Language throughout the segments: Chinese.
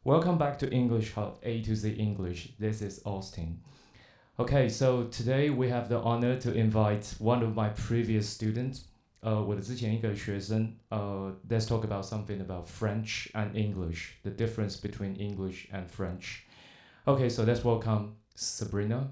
Welcome back to English Hub A to Z English. This is Austin. Okay, so today we have the honor to invite one of my previous students. 我的之前一个学生let's talk about something about French and English, the difference between English and French. Okay, so let's welcome Sabrina.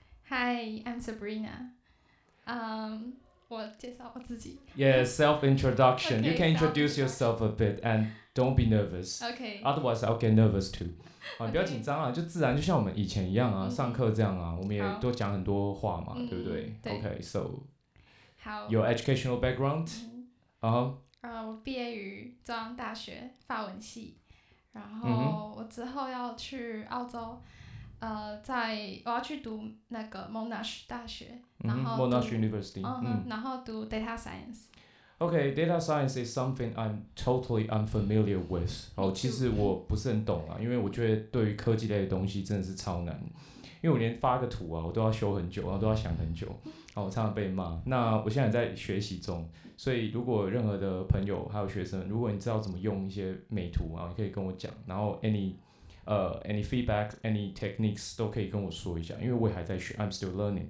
Hi, I'm Sabrina. 我介绍我自己。 Yeah, self-introduction. You Okay, can introduce self-introduction. yourself a bit and don't be nervous. Okay. Otherwise, I'll get nervous too. 你不要 Okay. 紧张啊，就自然，就像我们以前一样啊，上课这样啊，我们也好都讲很多话嘛，对不对对。 ？Okay, so 好。 your educational background? 我毕业于中央大学法文系，然后我之后要去澳洲，我要去读那个 Monash 大学，然后读 Monash University. 然后读 Data Science。 Okay, data science is something I'm totally unfamiliar with. 其实我不是很懂啊，因为我觉得对于科技类的东西真的是超难，因为我连发个图啊，我都要修很久，然后都要想很久，我常常被骂。那我现在在学习中，所以如果任何的朋友还有学生，如果你知道怎么用一些美图啊，你可以跟我讲，然后any feedback, any techniques 都可以跟我说一下，因为我也还在学 ，I'm still learning.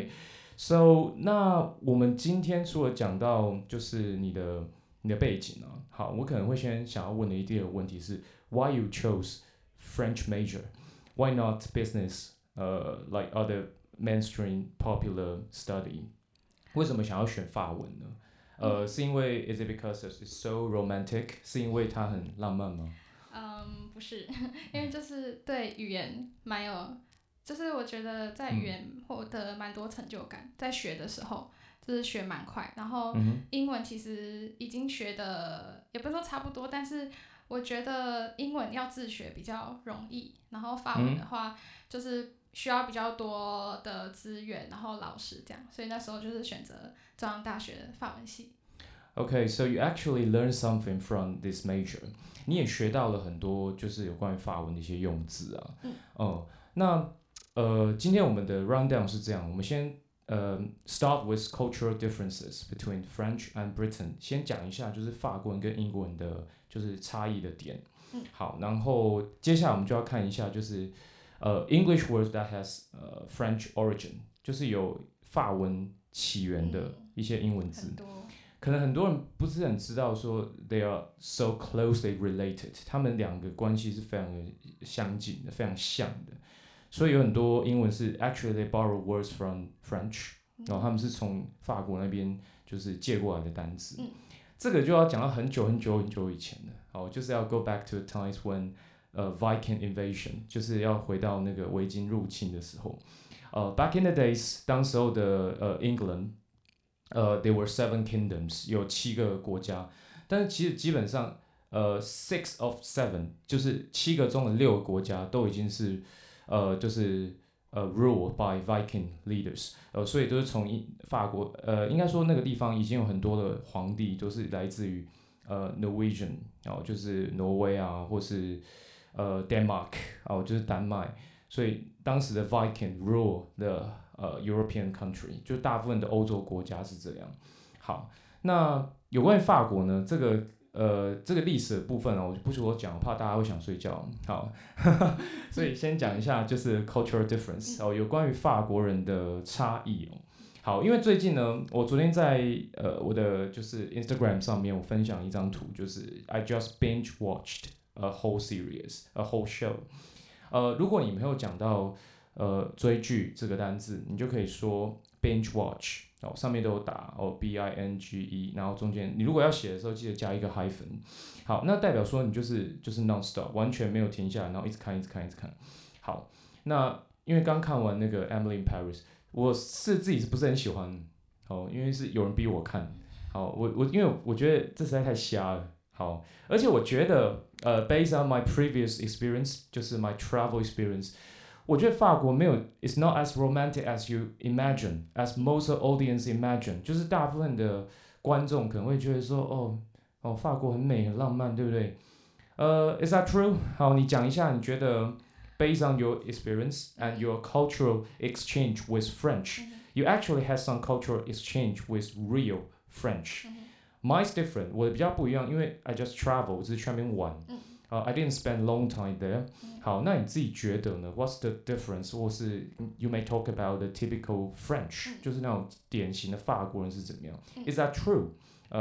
Okay.So 那我们今天除了讲到就是你的背景啊，好，我可能会先想要问的第二个问题是 Why you chose French major? Why not business? Like other mainstream popular study? 为什么想要选法文呢？是因为 Is it because it's so romantic? 是因为它很浪漫吗？ 不是，因为就是对语言蛮有。就是我觉得在语言获得蛮多成就感，在学的时候就是学蛮快，然后英文其实已经学的也不是说差不多，但是我觉得英文要自学比较容易，然后法文的话就是需要比较多的资源，然后老师这样，所以那时候就是选择中央大学的法文系。 Okay, so you actually learned something from this major. 你也学到了很多就是有关于法文的一些用字啊。那今天我们的 rundown 是这样，我们先start with cultural differences between French and Britain， 先讲一下就是法国文跟英国文的就是差异的点。好，然后接下来我们就要看一下就是English words that has French origin， 就是有法文起源的一些英文字。可能很多人不是很知道说 they are so closely related， 他们两个关系是非常的相近的，非常像的。所以有很多英文是 actually they borrow words from French， 然后他们是从法国那边就是借过来的单词。这个就要讲到很久很久很久以前了，就是要 go back to the times when Viking invasion， 就是要回到那个维京入侵的时候。Back in the days， 当时候的England， there were 7 kingdoms， 有7个国家，但是其实基本上6 of 7， 就是7个中的6个国家都已经是就是ruled by Viking leaders， 所以都是从法国，应该说那个地方已经有很多的皇帝都是来自于Norwegian， 就是挪威啊，或是Denmark， 就是丹麦，所以当时的 Viking rule the European country， 就大部分的欧洲国家是这样。好，那有关于法国呢，这个历史的部分我不说讲，我怕大家会想睡觉。好，所以先讲一下就是 cultural difference，有关于法国人的差异。好，因为最近呢，我昨天在我的就是 Instagram 上面我分享一张图，就是 I just binge watched a whole series, a whole show。如果你没有讲到追剧这个单字，你就可以说 binge watch。上面都有打binge， 然后中间你如果要写的时候，记得加一个 hyphen。好，那代表说你就是 non-stop， 完全没有停下来，然后一直看一直看一直看。好，那因为刚看完那个 Emily in Paris， 我是自己是不是很喜欢？因为是有人逼我看。好，因为我觉得这实在太瞎了。好，而且我觉得based on my previous experience， 就是 my travel experience。我觉得法国没有 ，it's not as romantic as you imagine, as most audience imagine。就是大部分的观众可能会觉得说，法国很美很浪漫，对不对？Is that true？ 好，你讲一下，你觉得 based on your experience and your cultural exchange with French， you actually had some cultural exchange with real French。Mine's different， 我的比较不一样，因为 I just travel， 我只是去那边玩。 I didn't spend long time there。好，那你自己觉得呢 ？What's the difference？ 或是 you may talk about the typical French，就是那种典型的法国人是怎么样？Is that true？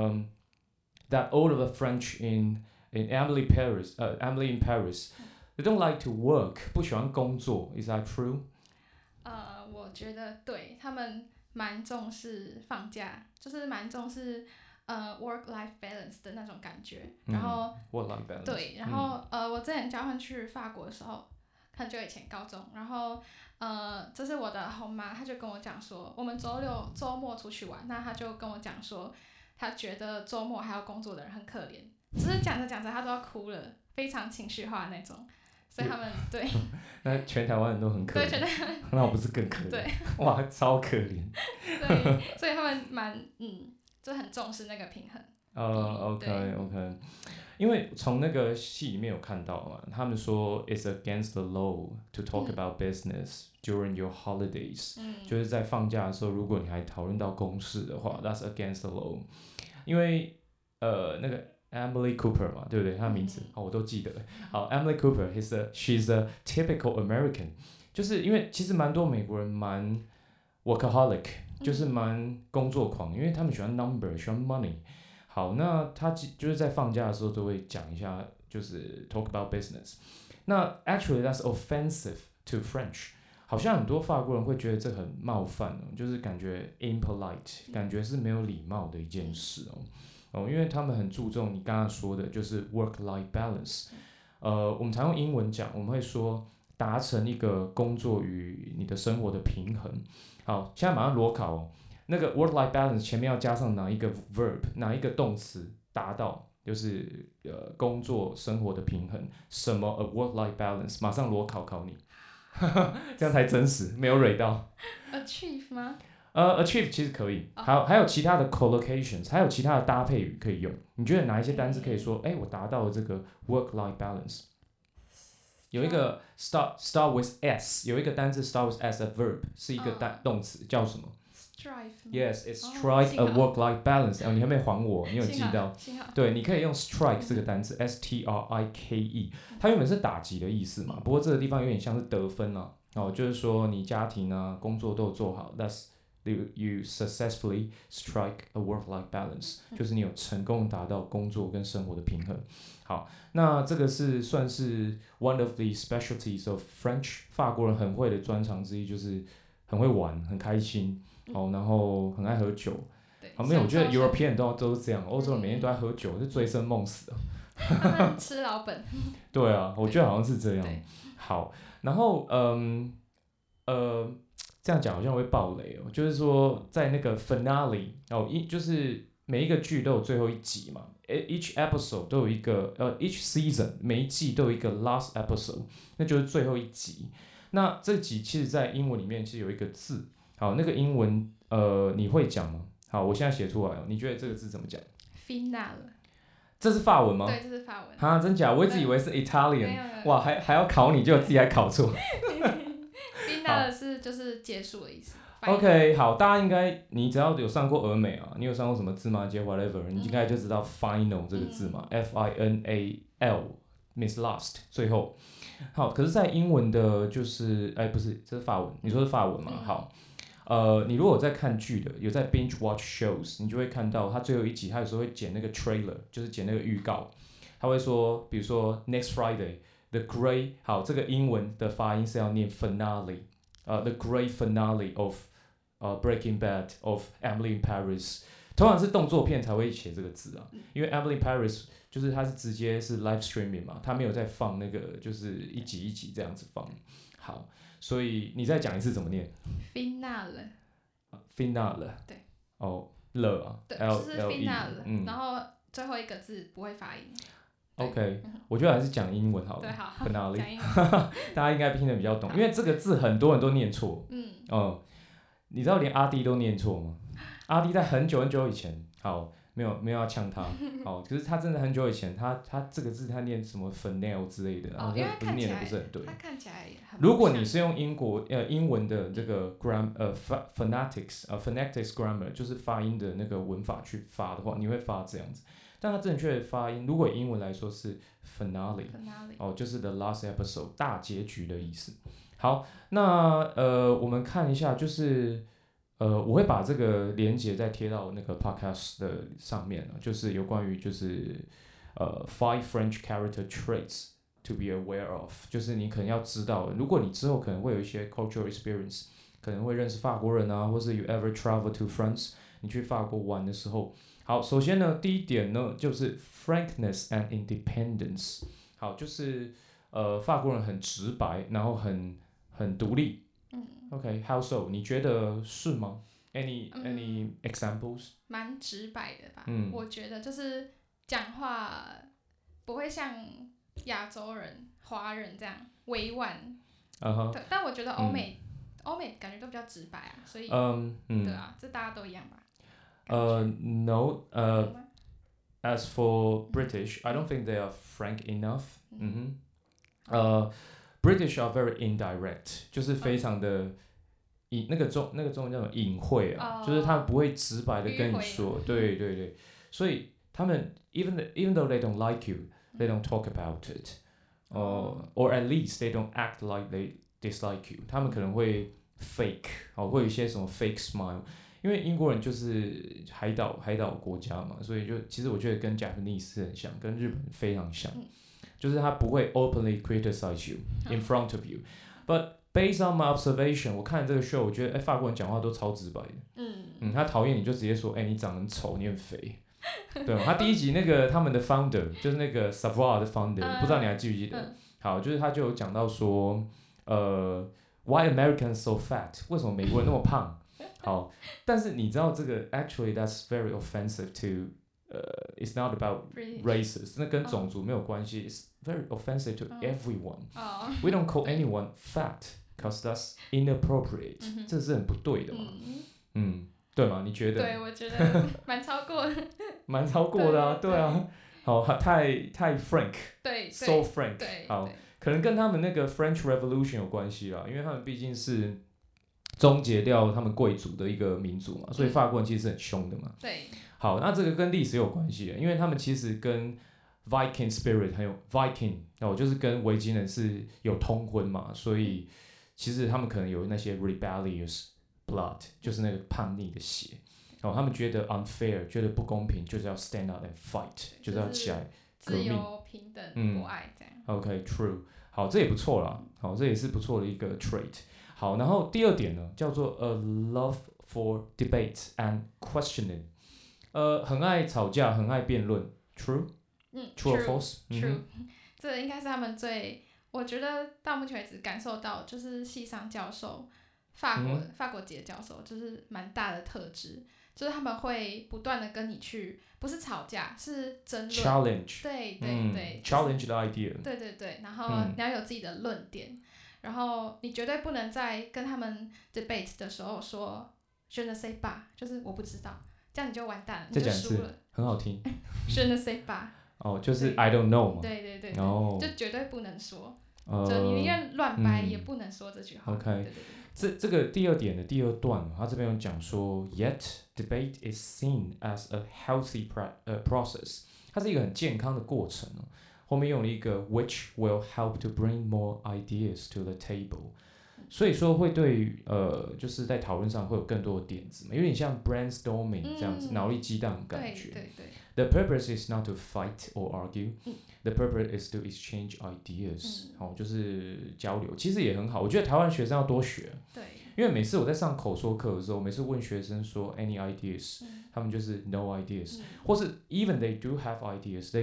That all of the French in Emily in Paris，they don't like to work， 不喜欢工作。Is that true？ 我觉得对，他们蛮重视放假，就是蛮重视work-life balance 的那种感觉。然后 work-life balance 对，然后我之前交换去法国的时候，很久以前高中，然后这是我的后妈，她就跟我讲说，我们周末出去玩，那她就跟我讲说，她觉得周末还要工作的人很可怜，只是讲着讲着她都要哭了，非常情绪化的那种。所以他们对， 那全台湾人都很可怜，那我不是更可怜？ 对， 哇，超可怜。 对，所以他们就很重视那个平衡。 OK， 因为从那个戏里面有看到嘛，他们说 it's against the law to talk about business during your holidays，就是在放假的时候，如果你还讨论到公事的话，that's against the law。因为那个Emily Cooper 嘛，对不对？她的名字我都记得。好 ，Emily Cooper，she's a typical American， 就是因为其实蛮多美国人蛮 workaholic， 就是蛮工作狂，因为他们喜欢 number， 喜欢 money。好，那他就是在放假的时候都会讲一下，就是 talk about business。那 actually that's offensive to French， 好像很多法国人会觉得这很冒犯就是感觉 impolite， 感觉是没有礼貌的一件事因为他们很注重你刚刚说的，就是 work-life balance。我们常用英文讲，我们会说达成一个工作与你的生活的平衡。好，现在马上裸考那个 work-life balance 前面要加上哪一个 verb， 哪一个动词达到，就是工作生活的平衡，什么 a work-life balance， 马上裸考你，这样才真实，没有蕊到。 achieve 吗 ？achieve 其实可以，还有其他的 collocations， 还有其他的搭配语可以用。你觉得哪一些单词可以说，我达到了这个 work-life balance？ 有一个 start with s， 有一个单词 start with s， a verb 是一个动词，叫什么？Yes, it's strike a work-life balance。你还没还我，你有记到？对，你可以用 strike 这个单词 ，strike， 它原本是打击的意思嘛，不过这个地方有点像是得分就是说你家庭工作都有做好 ，that's you successfully strike a work-life balance， 就是你有成功达到工作跟生活的平衡。好，那这个是算是 one of the specialties of French， 法国人很会的专长之一，就是很会玩，很开心，然后很爱喝酒。没有，我觉得 European 都是这样，欧洲人每天都在喝酒，是醉生梦死他们吃老本。 对啊，我觉得好像是这样。好，然后这样讲好像会爆雷就是说在那个 finale 就是每一个剧都有最后一集嘛 ，each episode 都有一个each season 每一季都有一个 last episode， 那就是最后一集。那这集其实在英文里面其实有一个字，好，那个英文你会讲吗？好，我现在写出来你觉得这个字怎么讲 ？Finale。 这是法文吗？ 对，这是法文。 真假？我一直以为是 Italian， 哇，还要考你，结果自己还考错。 Finale 是就是结束的意思。 OK， 好，大家应该你只要有上过俄美你有上过什么芝麻街 whatever， 你应该就知道 final 这个字嘛，F-I-N-A-L，miss last 最后。好，可是，在英文的就是不是，这是法文，你说是法文嘛？好。你如果有在看剧的，有在 binge watch shows， 你就会看到他最后一集，他有时候会剪那个 trailer， 就是剪那个预告。他会说，比如说 next Friday，the great， 好，这个英文的发音是要念 finale，the great finale of Breaking Bad of Emily in Paris。通常是动作片才会写这个字因为 Emily in Paris 就是它是直接是 live streaming 嘛，它没有在放那个就是一集一集这样子放。好。所以你再讲一次怎么念 ？Finale。 对。 了对，就是 finale，然后最后一个字不会发音。 OK， 我觉得还是讲英文好了。 对，好。 finale， 讲英文。 大家应该听得比较懂，因为这个字很多人都念错。你知道连阿弟都念错吗？阿弟在很久很久以前，好。没有要呛他，可是他真的很久以前，他这个字他念什么 finale 之类的， 因为他念的不是很对。 他看起来很。 如果你是用英文的这个 phonetics grammar， 就是发音的那个文法去发的话，你会发这样子。 但它正确的发音，如果以英文来说是 finale， finale 就是 the last episode 大结局的意思。好，那我们看一下，就是我会把这个连接再贴到那个 podcast 的上面呢，就是有关于就是five French character traits to be aware of， 就是你可能要知道，如果你之后可能会有一些 cultural experience， 可能会认识法国人啊，或是 you ever travel to France， 你去法国玩的时候，好，首先呢，第一点呢就是 frankness and independence， 好，就是法国人很直白，然后很独立。OK，how so？ 你觉得是吗？Any examples？ 蛮直白的吧。我觉得就是讲话不会像亚洲人、华人这样委婉。对，但我觉得欧美感觉都比较直白啊，所以对啊，这大家都一样吧 ？No，as for British, I don't think they are frank enough. British are very indirect， 就是非常的那个中文叫什么隐晦啊，就是他不会直白的跟你说，对对对，所以他们 even though they don't like you, they don't talk about it, or at least they don't act like they dislike you， 他们可能会 fake， 会有一些什么 fake smile。因为英国人就是海岛国家嘛，所以就其实我觉得跟 Japanese 很像，跟日本非常像，就是他不会 openly criticize you in front of you， but based on my observation， 我看这个 show， 我觉得法国人讲话都超直白的，他讨厌你就直接说，你长得很丑，你很肥，对，他第一集那个他们的 founder 就是那个 Savoir 的 founder， 不知道你还记不记得？好，就是他就有讲到说，why Americans so fat？ 为什么美国人那么胖？好，但是你知道这个 actually that's very offensive to it's not about races， 那跟种族没有关系，it's very offensive to everyone. We don't call anyone fat because that's inappropriate， 这是很不对的嘛，对吗？你觉得？ 对，我觉得蛮超过的， 蛮超过的啊，对啊，好，太 frank， 对 ，so frank， 好，可能跟他们那个 French Revolution 有关系啦，因为他们毕竟是终结掉他们贵族的一个民族嘛，所以法国人其实是很凶的嘛。 对。 好，那这个跟历史有关系的，因为他们其实跟 Viking spirit 还有 Viking 就是跟维京人是有通婚嘛，所以其实他们可能有那些 rebellious blood， 就是那个叛逆的血。他们觉得 unfair， 觉得不公平，就是要 stand up and fight， 就是要起来革命， 自由、平等、博爱这样。 OK，true， 好，这也不错啦，好，这也是不错的一个 trait。好，然后第二点呢，叫做 a love for debate and questioning， 很爱吵架，很爱辩论 ，true， true or false？ 这应该是他们我觉得到目前为止感受到，就是系上教授，法国籍的教授，就是蛮大的特质，就是他们会不断的跟你去，不是吵架，是争论 ，challenge， 对对对 ，challenge the idea， 对对对，然后你要有自己的论点。然后你绝对不能在跟他们 debate 的时候说 je ne sais pas， 就是我不知道，这样你就完蛋了，你就输了。 很好听 je ne sais pas， 就是 I don't know 嘛。 对对对，就绝对不能说，就你宁愿乱掰也不能说这句话。 OK， 这个第二点的第二段，他这边有讲说 ，yet debate is seen as a healthy process， 它是一个很健康的过程后面用了一个 which will help to bring more ideas to the table， 所以说会对于就是在讨论上会有更多的点子嘛，有点像 brainstorming 这样子，脑力激荡的感觉。 对对对。 The purpose is not to fight or argue， the purpose is to exchange ideas，就是交流，其实也很好。我觉得台湾学生要多学， 对， 因为每次我在上口说课的时候，每次问学生说 any ideas，他们就是 no ideas，或是 even they do have ideas，they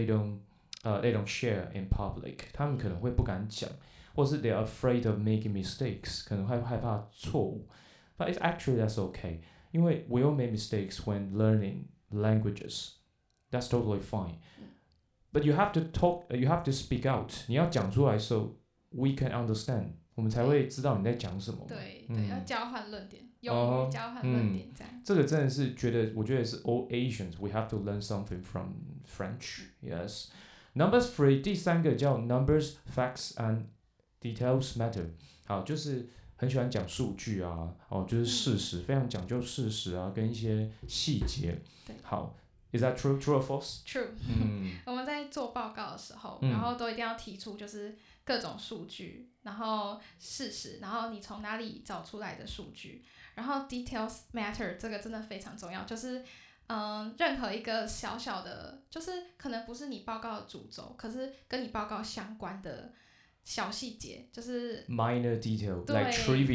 don't share in public， 他们可能会不敢讲，或是 they are afraid of making mistakes， 可能会害怕错误。But it's actually that's okay， 因为 we all make mistakes when learning languages， that's totally fine。But you have to talk， you have to speak out， 你要讲出来 so we can understand， 我们才会知道你在讲什么。 对对，要交换论点，勇于交换论点这样。 这个真的是我觉得是 all Asians we have to learn something from French。Yes。Number 3， 第三个叫 numbers, facts and details matter。好，就是很喜欢讲数据啊，就是事实，非常讲究事实啊，跟一些细节。好 Is that true? True or false? True. 我们在做报告的时候，然后都一定要提出就是各种数据，然后事实，然后你从哪里找出来的数据，然后 details matter 这个真的非常重要，就是任何一个小小的，就是可能不是你报告的主轴，可是跟你报告相关的小细节，就是 minor detail like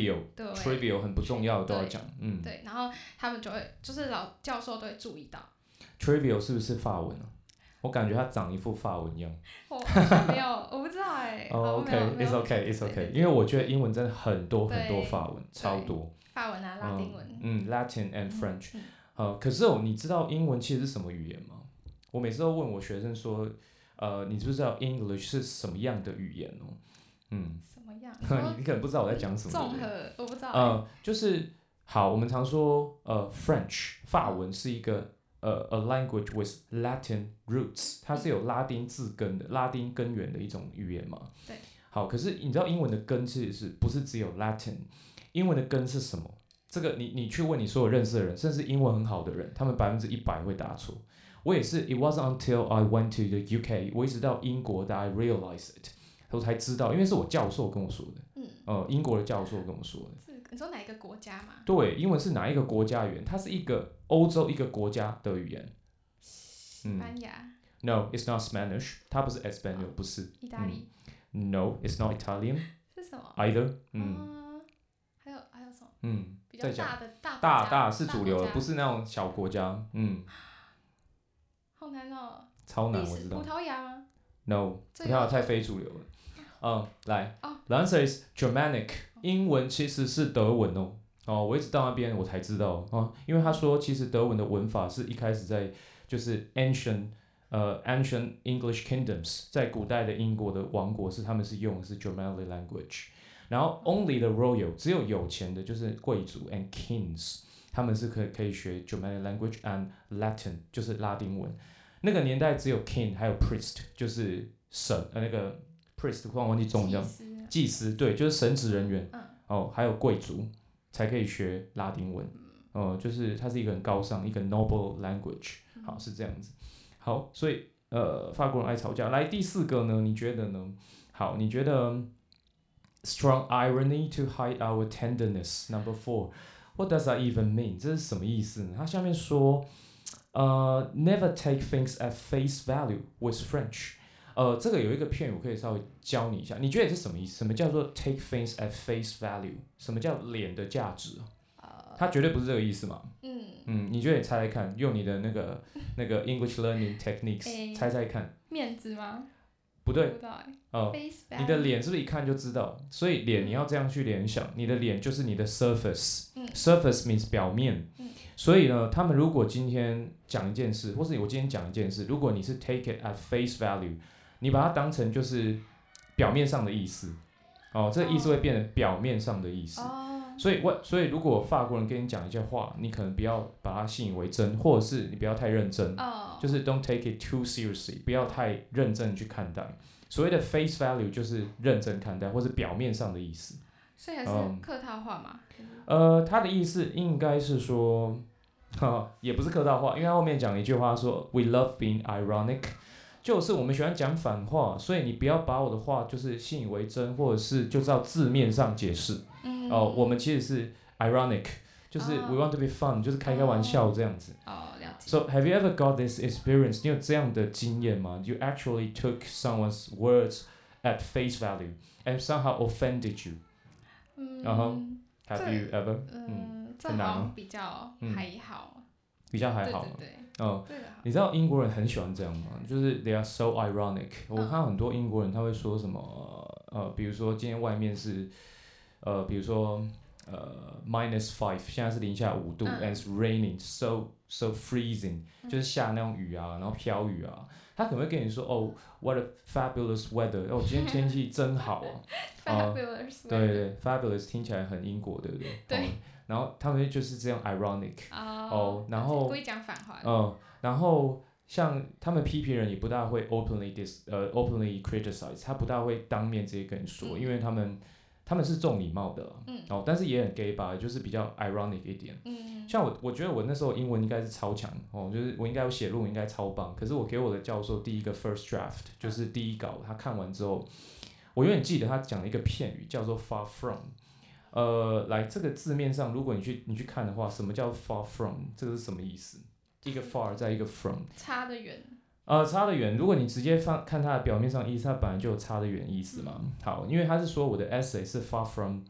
trivial 很不重要的都要讲。 对，然后他们就会就是老教授都会注意到。 trivial 是不是法文啊？我感觉它长一副法文样。 我好像没有，我不知道哎。 OK，it's okay，因为我觉得英文真的很多法文，超多。 法文啊，拉丁文。 Latin and French。可是你知道英文其实是什么语言吗？我每次都问我学生说，你知不知道 English 是什么样的语言哦？ 什么样？ 你可能不知道我在讲什么。 综合，我不知道。 就是好，我们常说French 法文是一个a language with Latin roots， 它是有拉丁字根的、拉丁根源的一种语言嘛。 对。 好，可是你知道英文的根其实不是只有 Latin？ 英文的根是什么？这个你去问你所有认识的人，甚至英文很好的人，他们100%会答错。我也是 ，It wasn't until I went to the UK， 我一直到英国that I realized it， 我才知道，因为是我教授跟我说的。英国的教授跟我说的。 你说哪一个国家吗？ 对，英文是哪一个国家语言？它是一个欧洲一个国家的语言。 西班牙。 No, it's not Spanish。它不是 Espanol，不是。 意大利。 No, it's not Italian。 是什么 ？Either。 还有什么？比较大的大是主流的，不是那种小国家。 好难哦。 超难，我知道。 葡萄牙吗 ？No， 葡萄牙太非主流了。来 ，The answer is Germanic。英文其实是德文哦。我一直到那边我才知道因为他说其实德文的文法是一开始在就是 ancient English kingdoms， 在古代的英国的王国他们是用的是 Germanic language。然后 only the royal 只有有钱的就是贵族 and kings， 他们是可以学 Germanic language and Latin 就是拉丁文。那个年代只有 king 还有 priest 就是神那个 priest 突然忘记中文叫祭司，对，就是神职人员。还有贵族才可以学拉丁文。就是它是一个很高尚一个 noble language。好，是这样子。好，所以法国人爱吵架。来第4个呢？你觉得呢？好，你觉得 strong irony to hide our tenderness number 4 what does that even mean？ 这是什么意思呢？它下面说never take things at face value with French。这个有一个片语我可以稍微教你一下，你觉得是什么意思？什么叫做 take things at face value？ 什么叫脸的价值？它绝对不是这个意思嘛。你觉得你猜猜看，用你的那个 English learning techniques 猜猜看。 面子吗？ 不对。 不知道你的脸是不是一看就知道？所以脸你要这样去联想，你的脸就是你的 surface。surface means 表面。所以呢，他们如果今天讲一件事，或是我今天讲一件事，如果你是 take it at face value， 你把它当成就是表面上的意思。这个意思会变成表面上的意思。所以如果法国人跟你讲一些话，你可能不要把它信以为真，或者是你不要太认真。就是 don't take it too seriously， 不要太认真去看待。所谓的 face value 就是认真看待，或是表面上的意思。 所以还是客套话嘛？ 他的意思应该是说，也不是客套话，因为他后面讲一句话说 ，We love being ironic， 就是我们喜欢讲反话，所以你不要把我的话就是信以为真，或者是就照字面上解释。我们其实是 ironic， 就是 we want to be fun， 就是开玩笑这样子。 了解。 So have you ever got this experience？ 你有这样的经验吗 ？You actually took someone's words at face value and somehow offended you。Have you ever？ 这好像比较还好。 比较还好。 对。 你知道英国人很喜欢这样吗？就是 they are so ironic。我看到很多英国人他会说什么比如说今天外面是比如说-5， 现在是零下5度，and it's raining so freezing， 就是下那种雨啊，然后飘雨啊。他可能会跟你说what a fabulous weather， 今天天气真好啊。 fabulous。 对 ，fabulous 听起来很英国，对不对？ 对。 然后他们就是这样 ironic。然后故意讲反话。 然后像他们批评人也不大会openly criticize， 他不大会当面直接跟你说，因为他他们是重礼貌的但是也很 gay 吧，就是比较 ironic 一点。像我觉得我那时候英文应该是超强就是我应该有写论文应该超棒，可是我给我的教授第一个 first draft 就是第一稿，他看完之后，我永远记得他讲了一个片语叫做 far from。来这个字面上，如果你去看的话，什么叫 far from？ 这个是什么意思？一个 far 再一个 from， 差得远。 差得远。如果你直接看它的表面上意思，它本来就有差得远意思嘛。好，因为他是说我的 essay 是 far from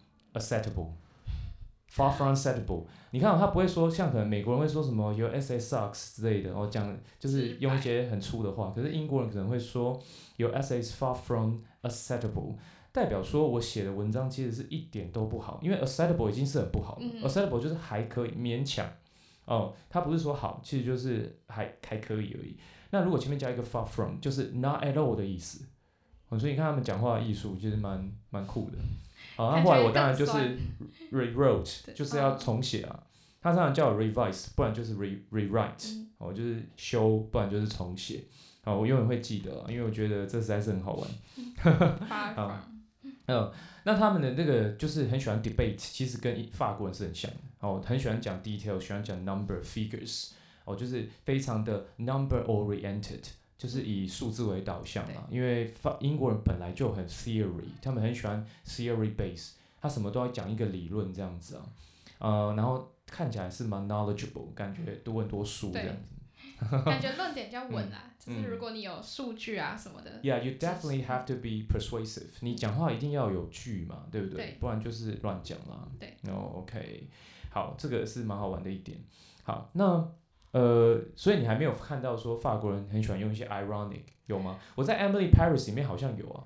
acceptable。far from acceptable， 你看他不会说像可能美国人会说什么 your essay sucks 之类的讲就是用一些很粗的话，可是英国人可能会说 your essay is far from acceptable， 代表说我写的文章其实是一点都不好，因为 acceptable 已经是很不好了acceptable 就是还可以勉强他不是说好，其实就是还可以而已。那如果前面加一个 far from， 就是 not at all 的意思所以你看他们讲话的艺术其实蛮酷的。好，那后来我当然就是 rewrote， 就是要重写啊。他常常叫我 revise， 不然就是 rewrite，就是修，不然就是重写。好，我永远会记得因为我觉得这实在是很好玩。那他们的那个就是很喜欢 debate， 其实跟法国人是很像的很喜欢讲 detail， 喜欢讲 number figures，就是非常的 number oriented， 就是以数字为导向因为英国人本来就很 theory， 他们很喜欢 theory base， 他什么都要讲一个理论这样子然后看起来是蛮 knowledgeable， 感觉读很多书这样子。 感觉论点比较稳就是如果你有数据啊什么的。 Yeah, you definitely have to be persuasive。你讲话一定要有据嘛，对不对？不然就是乱讲啦。 对。 OK， 好，这个是蛮好玩的一点。好，那所以你还没有看到说法国人很喜欢用一些 ironic 有吗？我在 Emily Paris 里面好像有啊。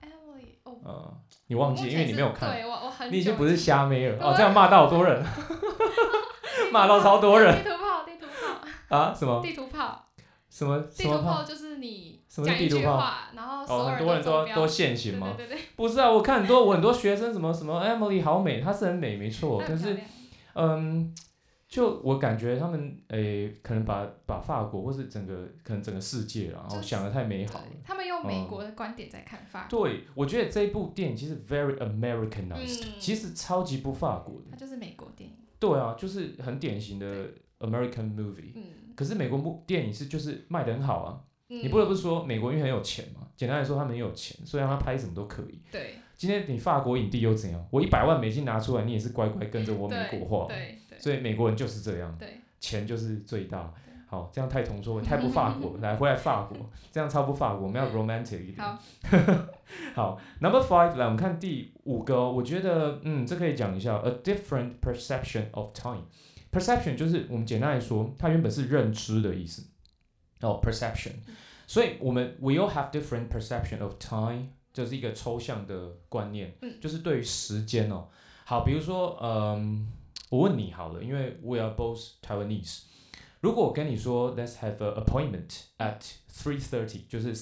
Emily 你忘记，因为你没有看。 对，我很久。 你已经不是虾妹了这样骂到好多人，骂到超多人。 地图炮。 啊？什么？ 地图炮。 什么地图炮就是你讲一句话，然后所有人很多人都现行吗？ 对。 不是啊，我看我很多学生什么 Emily 好美，她是很美没错，可是就我感觉他们可能把法国或是可能整个世界然后想得太美好了。 他们用美国的观点在看法国。对，我觉得这一部电影其实 very Americanized，其实超级不法国的。 它就是美国电影。 对啊，就是很典型的 American movie。可是美国电影就是卖得很好啊。你不得不说美国因为很有钱嘛，简单来说他们很有钱，所以让他拍什么都可以。 对。 今天你法国影帝又怎样？我100万美金拿出来，你也是乖乖跟着我美国化。 对。 所以美国人就是这样。 对。 钱就是最大。好，这样太同桌，太不法国。回来法国，这样超不法国，我们要 romantic 一点。好，Number 5， 来我们看第5个我觉得这可以讲一下 ，a different perception of time。perception 就是我们简单来说，它原本是认知的意思。perception， 所以we all have different perception of time， 这是一个抽象的观念，就是对于时间好，比如说我问你好了，因为 we are both Taiwanese。如果我跟你说 let's have an appointment at 3:30， 就是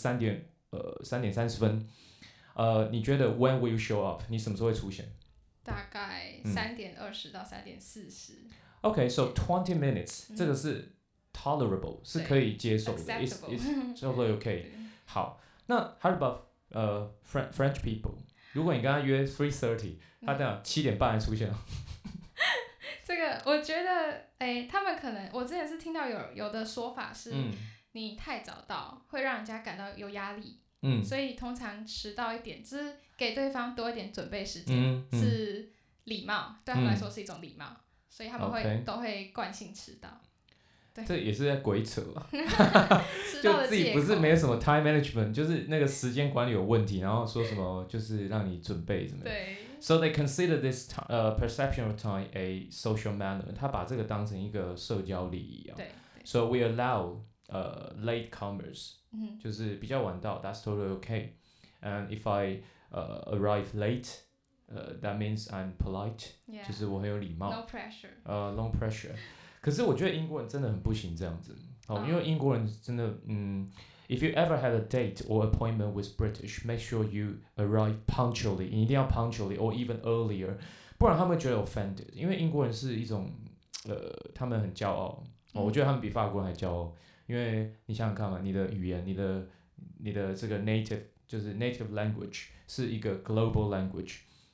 3:30，你觉得 when will you show up？ 你什么时候会出现？ 大概3:20到3:40。 Okay, so 20 minutes，这个是 tolerable， 是可以接受的 ，it's totally okay。好，那 how about French people？ 如果你跟他约 3:30， 他这样7点半才出现。 这个我觉得，他们可能我之前是听到有的说法是，你太早到会让人家感到有压力，所以通常迟到一点，就是给对方多一点准备时间，是礼貌，对他们来说是一种礼貌，所以他们都会惯性迟到。 这也是在鬼扯啊！就自己不是没有什么 time management， 就是那个时间管理有问题，然后说什么就是让你准备什么。 对。 So they consider this perception of time a social manner， 他把这个当成一个社交礼仪啊。 对。 So we allow late comers， 就是比较晚到 ，that's totally okay. And if I arrive late，that means I'm polite， 就是我很有礼貌。 No pressure。 No pressure。可是我觉得英国人真的很不行这样子因为英国人真的if you ever had a date or appointment with British, make sure you arrive punctually， 你一定要 punctually or even earlier， 不然他们会觉得 offended， 因为英国人是一种他们很骄傲我觉得他们比法国人还骄傲，因为你想想看嘛，你的语言，你的这个 native 就是 native language 是一个 global language，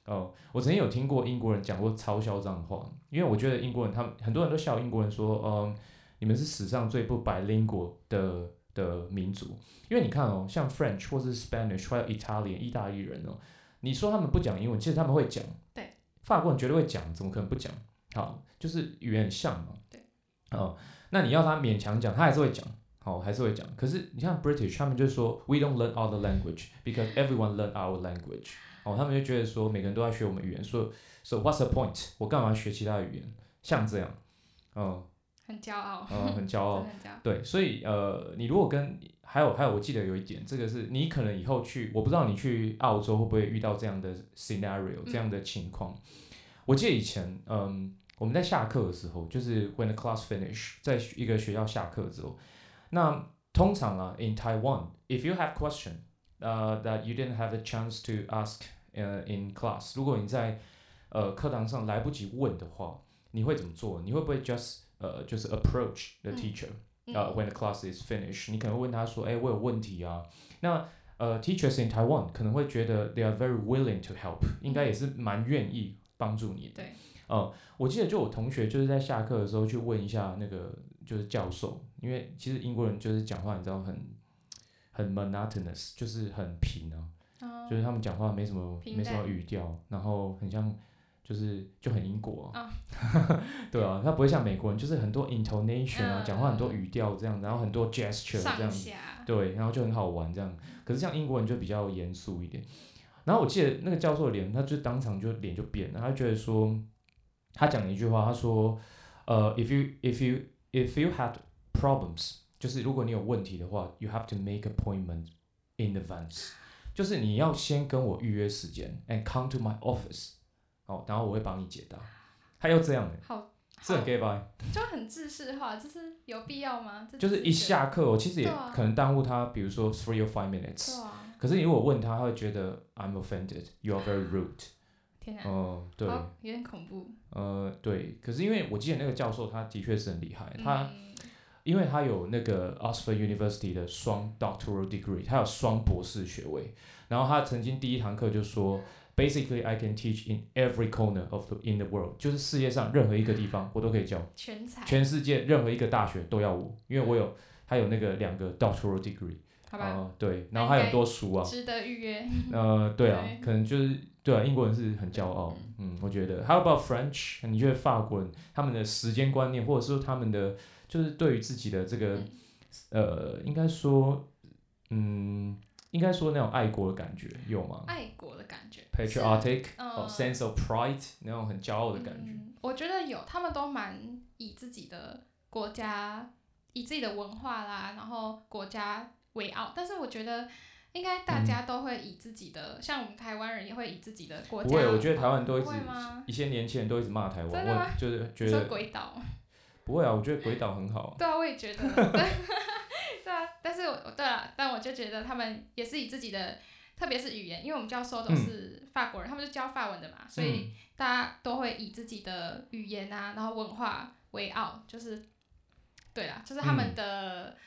我曾经有听过英国人讲过超嚣张的话，因为我觉得英国人他们很多人都笑英国人说，你们是史上最不bilingual的民族，因为你看哦，像 French 或是 Spanish 还有 Italian 意大利人哦，你说他们不讲英文，其实他们会讲， 对， 法国人绝对会讲，怎么可能不讲？好，就是语言很像嘛， 对， 那你要他勉强讲，他还是会讲。好，还是会讲。可是你看 British， 他们就说 We don't learn other language because everyone learn our language。他们就觉得说每个人都在学我们语言，所以 So what's the point？ 我干嘛学其他的语言？像这样， 很骄傲， 很骄傲， 很骄傲。 对，所以你如果跟还有，我记得有一点，这个是你可能以后去，我不知道你去澳洲会不会遇到这样的 scenario，这样的情况。我记得以前，我们在下课的时候，就是 when the class finish， 在一个学校下课之后。那通常啊 ，in Taiwan, if you have question, that you didn't have a chance to ask in class， 如果你在课堂上来不及问的话，你会怎么做？你会不会就是 approach the teacher，when the class is finished？ 你可能会问他说，我有问题啊。那teachers in Taiwan 可能会觉得 they are very willing to help， 应该也是蛮愿意帮助你的。 对。 我记得就我同学就是在下课的时候去问一下那个就是教授，因为其实英国人就是讲话你知道很 monotonous， 就是很平啊，就是他们讲话没什么语调，然后很像就很英国对啊，他不会像美国人就是很多 intonation 啊，讲话很多语调这样，然后很多 gesture 这样子，对，然后就很好玩这样。可是像英国人就比较严肃一点。然后我记得那个教授的脸，他就当场就脸就变了，他觉得说。他讲了一句话，他说if you had problems， 就是如果你有问题的话 ，you have to make appointment in advance， 就是你要先跟我预约时间 ，and come to my office， 然后我会帮你解答。他又这样是很 gay bye， 就很制式化，就是有必要吗？ 就是一下课其实也可能耽误他，比如说 3 or 5 minutes，可是你如果问他，他会觉得 I'm offended， you are very rude。对， 有点恐怖。 对，可是因为我记得那个教授他的确是很厉害，因为他有那个 Oxford University 的双 doctoral degree， 他有双博士学位，然后他曾经第一堂课就说 ，basically I can teach in every corner in the world， 就是世界上任何一个地方我都可以教，全世界任何一个大学都要我，因为他有那个2个 doctoral degree， 好吧， 对，然后还有很多书啊， 值得预约。 对啊，可能就是。对啊，英国人是很骄傲，我觉得。How about French？ 你觉得法国人他们的时间观念，或者说他们的就是对于自己的这个应该说那种爱国的感觉有吗？ 爱国的感觉 ，patriotic，sense of pride， 那种很骄傲的感觉。 我觉得有，他们都蛮以自己的国家、以自己的文化啦，然后国家为傲。但是我觉得。应该大家都会以自己的，像我们台湾人也会以自己的国家。 不会，我觉得台湾都一些年轻人都一直骂台湾， 真的吗？ 我就是觉得。 说鬼岛。 不会啊，我觉得鬼岛很好。 对啊，我也觉得。对啊，但是但我就觉得他们也是以自己的，特别是语言，因为我们教授都是法国人，他们就教法文的嘛，所以大家都会以自己的语言啊，然后文化为傲，就是对啦，就是他们的。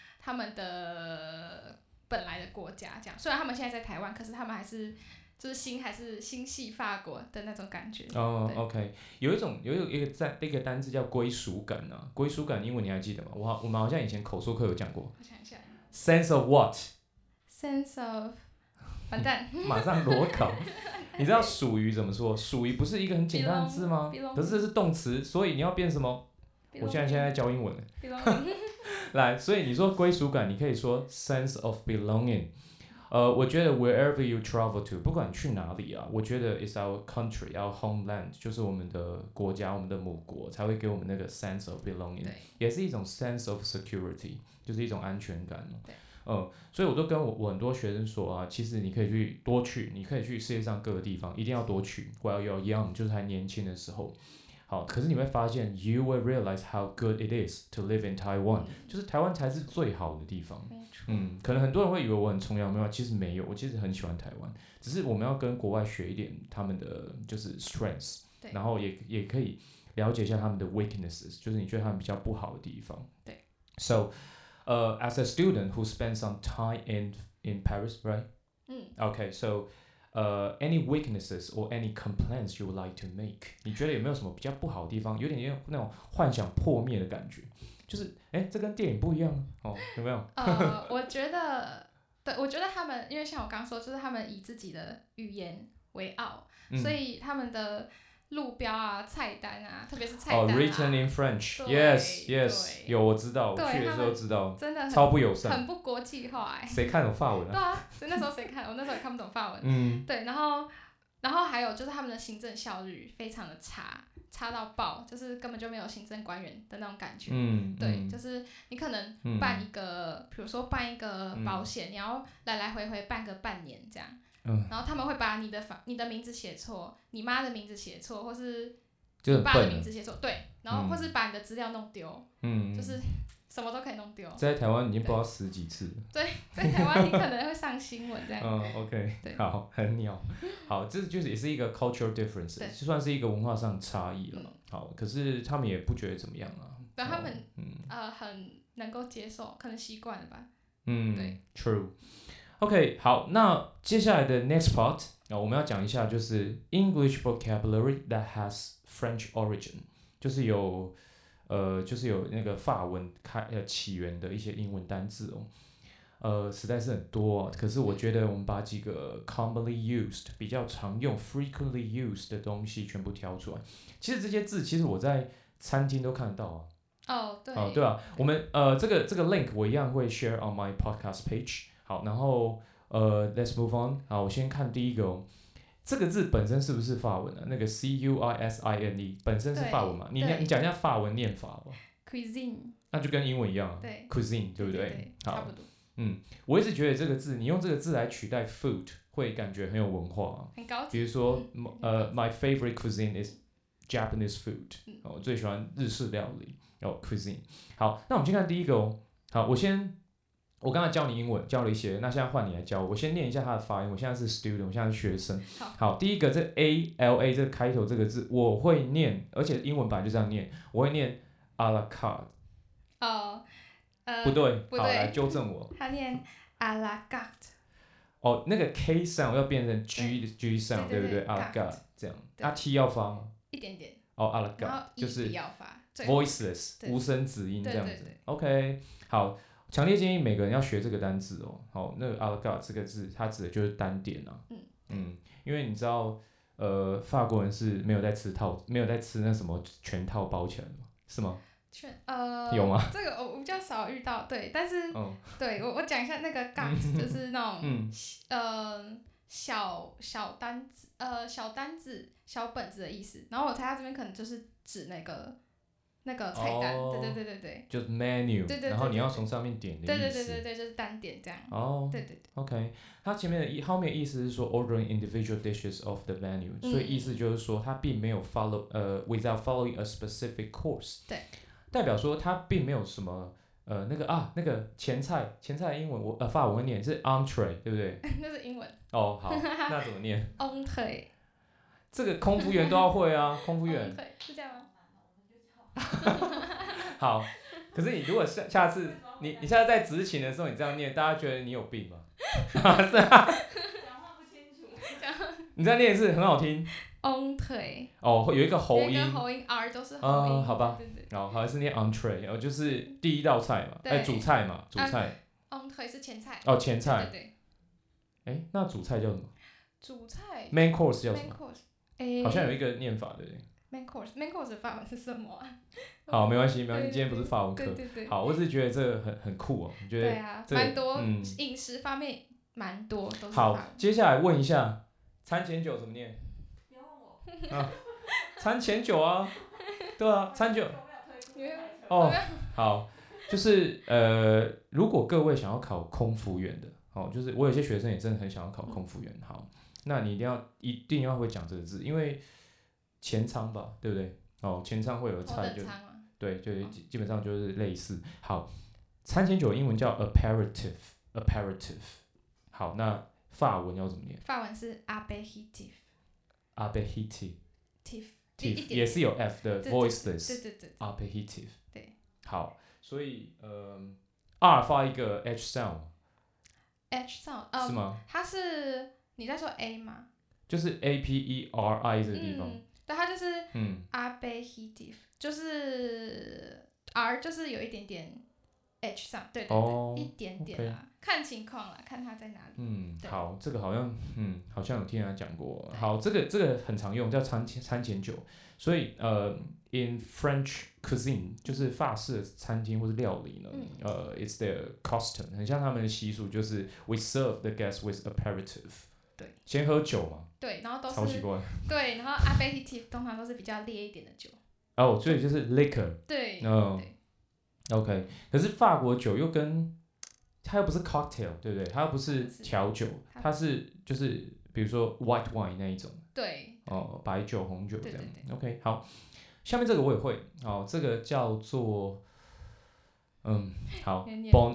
本来的国家这样，虽然他们现在在台湾，可是他们还是就是心系法国的那种感觉。 OK， 有一个单字叫归属感啊，归属感英文你还记得吗？我们好像以前口说课有讲过。 我想一下。 Sense of what？ Sense of， 完蛋。马上裸考。你知道属于怎么说？属于不是一个很简单的字吗？可是这是动词，所以你要变什么？我现在教英文了。来，所以你说归属感，你可以说 sense of belonging。我觉得 wherever you travel to， 不管你去哪里啊，我觉得 is our country, our homeland， 就是我们的国家，我们的母国，才会给我们那个 sense of belonging， 也是一种 sense of security， 就是一种安全感。所以我都跟我很多学生说啊，其实你可以多去，你可以去世界上各个地方，一定要多去。While you're young， 就是还年轻的时候。好，可是你会发现 ，you will realize how good it is to live in Taiwan，就是台湾才是最好的地方。可能很多人会以为我很崇洋媚外，其实没有，我其实很喜欢台湾，只是我们要跟国外学一点他们的就是 strengths， 然后也可以了解一下他们的 weaknesses， 就是你觉得他们比较不好的地方。 对。 So, as a student who spent some time in Paris, right? Okay, so. any weaknesses or any complaints you would like to make？ 你觉得有没有什么比较不好的地方？有点那种幻想破灭的感觉，就是这跟电影不一样哦，有没有？ 我觉得，对，我觉得他们，因为像我刚说，就是他们以自己的语言为傲，所以他们的路标啊、菜单啊，特别是菜单啊 written in French，yes，有我知道，我去的时候知道， 真的超不友善， 很不国际化谁看懂法文啊？ 对啊，所以那时候谁看？我那时候也看不懂法文。对，然后还有就是他们的行政效率非常的差到爆，就是根本就没有行政官员的那种感觉。对，就是你可能办一个，比如说办一个保险，你要来来回回办个半年这样。然后他们会把你的名字写错，你妈的名字写错，或是你爸的名字写错，对，然后或是把你的资料弄丢，就是什么都可以弄丢。 在台湾已经不知道10几次了。 对，在台湾你可能会上新闻这样。 OK， 好，很鸟。好，这就是也是一个 cultural difference， 就算是一个文化上的差异了。好，可是他们也不觉得怎么样啊。 对，他们很能够接受，可能习惯了吧。 对 ，True。OK， 好，那接下来的 next part，我们要讲一下就是 English vocabulary that has French origin， 就是有那个法文起源的一些英文单字实在是很多可是我觉得我们把几个 commonly used 比较常用 frequently used 的东西全部挑出来。其实这些字，其实我在餐厅都看得到对。 对啊，我们这个 link 我一样会 share on my podcast page。好，然后let's move on。好，我先看第一个这个字本身是不是法文啊？那个 cuisine 本身是法文嘛？你讲一下法文念法吧。 cuisine， 那就跟英文一样对 ，cuisine 对不对？好， 差不多。 我一直觉得这个字，你用这个字来取代 food， 会感觉很有文化很高级。 比如说my favorite cuisine is Japanese food，我最喜欢日式料理cuisine。好，那我们先看第一个好，我刚才教你英文，教了一些，那现在换你来教我。我先念一下它的发音。我现在是 student， 我现在是学生。好，第一个这 ALA 这个开头这个字我会念，而且英文版就这样念，我会念 à la carte。不对，好，来纠正我。 他念 à la carte。 那个 K sound 要变成 G sound， 对不对 ？à la carte 这样，T 要发吗？ 一点点。 à la carte 就是 voiceless 无声子音这样子。OK， 好。强烈建议每个人要学这个单字好，那个 à la carte 这个字，它指的就是单点因为你知道，法国人是没有在吃那什么全套包起来的吗？是吗？有吗？ 这个我比较少遇到，对，但是对我讲一下那个 carte 就是那种小单子小本子的意思，然后我猜他这边可能就是指那个菜单，对， 就是 menu， 对， 然后你要从上面点的意思， 对，就是单点这样。对 ，OK， 它前面的后面意思是说 ordering individual dishes of the menu，所以意思就是说它并没有 without following a specific course， 对， 代表说它并没有什么那个前菜的英文法文会念是 entree， 对不对？ 那是英文。 好，那怎么念 ？entree。 这个空服员都要会啊，空服员。 是这样吗？ 好，可是你如果下次你下次在执勤的时候你这样念，大家觉得你有病吗？是啊，讲话不清楚。 你这样念一次很好听。 entree。 有一个喉音。 有一个喉音 R 都是喉音。 好吧。好像是念 entree，就是第一道菜嘛，主菜嘛，主菜。 entree 是前菜。 前菜。 对。 那主菜叫什么？ 主菜。 main course 叫什么？ main course。 好像有一个念法，对不对 ？main course 的法文是什么啊？ 好，没关系，今天不是法文课。 对。 好，我只是觉得这个很酷我觉得。 对啊，蛮多饮食方面蛮多都是法文。 好，接下来问一下，餐前酒怎么念？ 不要问我。 餐前酒啊，对啊，餐酒。好，就是如果各位想要考空服员的，就是我有些学生也真的很想要考空服员，好，那你一定要会讲这个字，因为前舱吧，对不对？前舱会有菜对，就基本上就是类似。好，餐前酒英文叫 aperitif。好，那法文要怎么念？ 法文是 aperitif。 也是有 f 的 voiceless。 对。 aperitif。 对。 好，所以R 发一个 h sound。 h sound。 是吗？ 它是你在说 A 吗？ 就是 APERI 这个地方。 对，它就是aperitif，就是 R 就是有一点点 H 上，对，一点点啦，看情况啦，看它在哪里。 好，这个好像有听人家讲过。好，这个很常用，叫餐前酒。所以in French cuisine 就是法式的餐厅或是料理呢，it's their custom， 很像他们的习俗，就是 we serve the guests with aperitif。对，先喝酒嘛。 对，然后都是超奇怪。 对，然后 aperitif 通常都是比较烈一点的酒。 所以就是 liquor。 对。 OK， 可是法国酒又跟它又不是 cocktail， 对不对？它又不是调酒，它是就是比如说 white wine 那一种。 对。 白酒、红酒这样。 对 OK， 好，下面这个我也会。这个叫做好 ，bon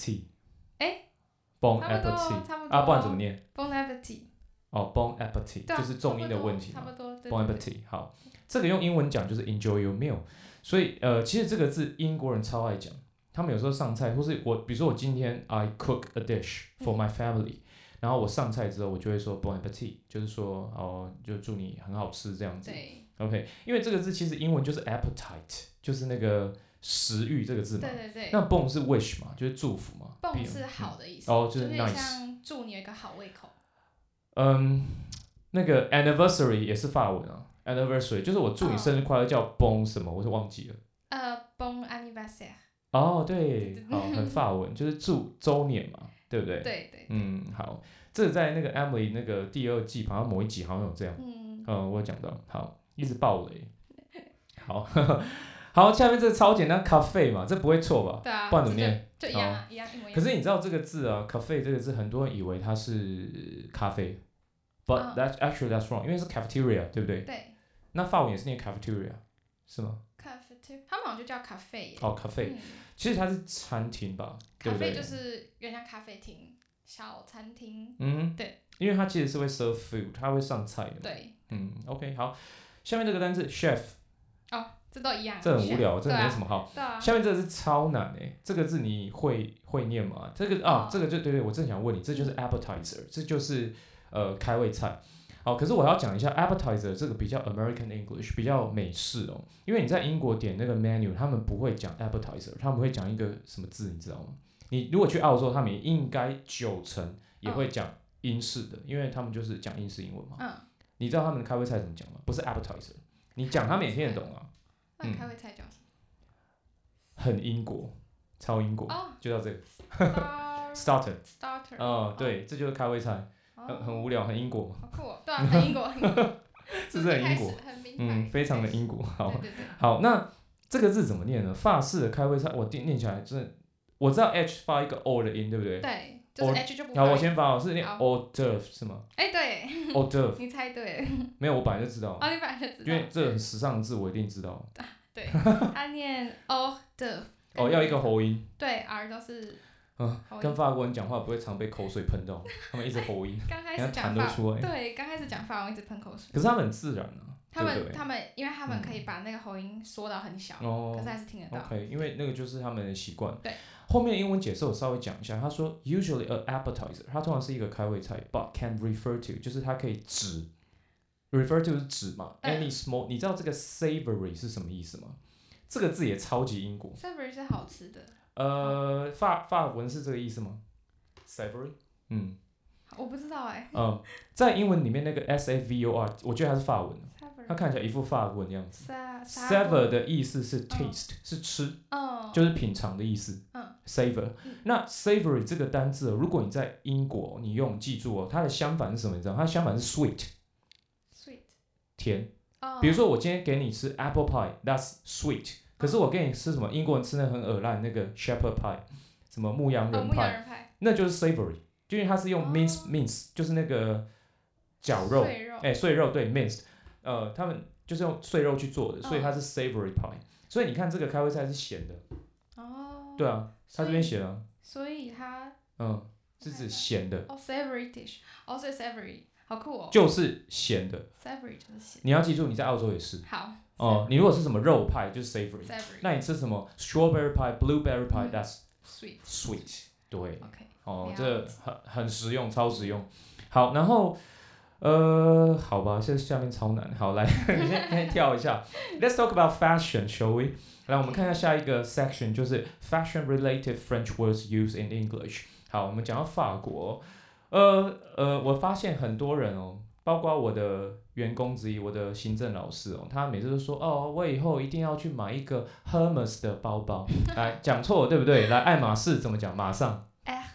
appetit。bon appetit 差不多啊，不然怎么念 ？bon appetit。 bon appetit 就是重音的问题嘛。 差不多。 bon appetit 好，这个用英文讲就是 enjoy your meal。所以其实这个字英国人超爱讲，他们有时候上菜，或是比如说我今天 I cook a dish for my family，然后我上菜之后我就会说 bon appetit， 就是说就祝你很好吃这样子。 对。 OK， 因为这个字其实英文就是 appetite， 就是那个食欲这个字嘛。 对。 那 bon 是 wish 嘛，就是祝福嘛。 bon 是好的意思。 就是 nice， 像祝你有一个好胃口。 那个 anniversary 也是法文啊。anniversary 就是我祝你生日快乐，叫 bon 什么，我是忘记了。 bon anniversaire。 对，好，很法文，就是祝周年嘛，对不对？ 对。 好，这在那个 Emily 那个第2季，好像某一集好像有这样。我有讲到，好，一直爆雷。好，好，下面这个超简单 ，cafe 嘛，这不会错吧？ 对啊， 不然怎么念？ 就一样啊，一样一模一样。 可是你知道这个字啊 ，cafe 这个字，很多人以为它是咖啡，but that's wrong， 因为是 cafeteria， 对不对？ 对。 那法文也是念 cafeteria， 是吗？ 他们好像就叫咖啡耶。 咖啡，其实它是餐厅吧，对不对？ 咖啡就是有点像咖啡厅、小餐厅。对。 因为它其实是会 serve food， 它会上菜的。 对。 OK， 好，下面这个单字 chef。 这都一样。 这很无聊，这个没什么好。 对啊。 下面这个是超难这个字你会念吗？这个这个就对，我正想问你，这就是 appetizer， 这就是开胃菜。好，可是我要讲一下 appetizer 这个比较 American English， 比较美式因为你在英国点那个 menu， 他们不会讲 appetizer， 他们会讲一个什么字，你知道吗？你如果去澳洲，他们也应该90%也会讲英式的，因为他们就是讲英式英文嘛。你知道他们的开胃菜怎么讲吗？不是 appetizer， 你讲他们也听得懂啊。 那开胃菜叫什么？ 很英国，超英国，就叫这个 starter。对，这就是开胃菜。很无聊，很英国。 好酷对啊，很英国。 是不是很英国？非常的英国。好，那这个字怎么念呢？法式的开胃菜，我念起来真的，我知道 H 发一个 O 的音，对不对？ 对，就是 H 就不发。 好，我先发，是念 hors d'oeuvre 是吗？ 对 hors d'oeuvre 你猜对了。 没有，我本来就知道。 你本来就知道。 因为这很时尚的字，我一定知道。 对，他念 hors d'oeuvre。 要一个喉音。 对 ，R 都是。 跟法国人讲话不会常被口水喷到，他们一直喉音， 刚开始讲法文，对，刚开始讲法文一直喷口水。 可是他们很自然啊， 他们，因为他们可以把那个喉音缩到很小，可是还是听得到。 OK， 因为那个就是他们的习惯。 对， 后面的英文解释我稍微讲一下，他说 usually an appetizer， 它通常是一个开胃菜 ，but can refer to， 就是它可以指 refer to 是指嘛 ，any small， 你知道这个 savory 是什么意思吗？这个字也超级英国。 savory 是好吃的。 法文是这个意思吗 ？Savory， 我不知道在英文里面那个 savor， 我觉得它是法文，它看起来一副法文的样子。savor 的意思是 taste， 是吃，就是品尝的意思。savor， 那 savory 这个单字，如果你在英国，你记住它的相反是什么？你知道？它的相反是 sweet， 甜。比如说我今天给你吃 apple pie，that's sweet。可是我给你吃什么？英国人吃那很恶烂那个 shepherd pie， 什么牧羊人派，那就是 savory， 因为它是用 mince， 就是那个绞肉，碎肉对 minced， 他们就是用碎肉去做的，所以它是 savory pie。所以你看这个开胃菜是咸的，对啊，它这边写了， 所以它是指咸的。 savory dish， 所以 savory 好酷就是咸的 ，savory 就是咸。 你要记住，你在澳洲也是。 好。 你如果是什么肉派就是 savory， 那你吃什么 strawberry pie、blueberry pie，that's sweet。对，这很实用，超实用。 好，然后好吧，现在下面超难。好，来，你先跳一下。Let's talk about fashion, shall we？ 来，我们看一下下一个 section， 就是 fashion-related French words used in English。好，我们讲到法国，我发现很多人哦，包括我的员工之一，我的行政老师哦，他每次都说哦，我以后一定要去买一个 Hermes 的包包。来，讲错了对不对？来，爱马仕怎么讲？马上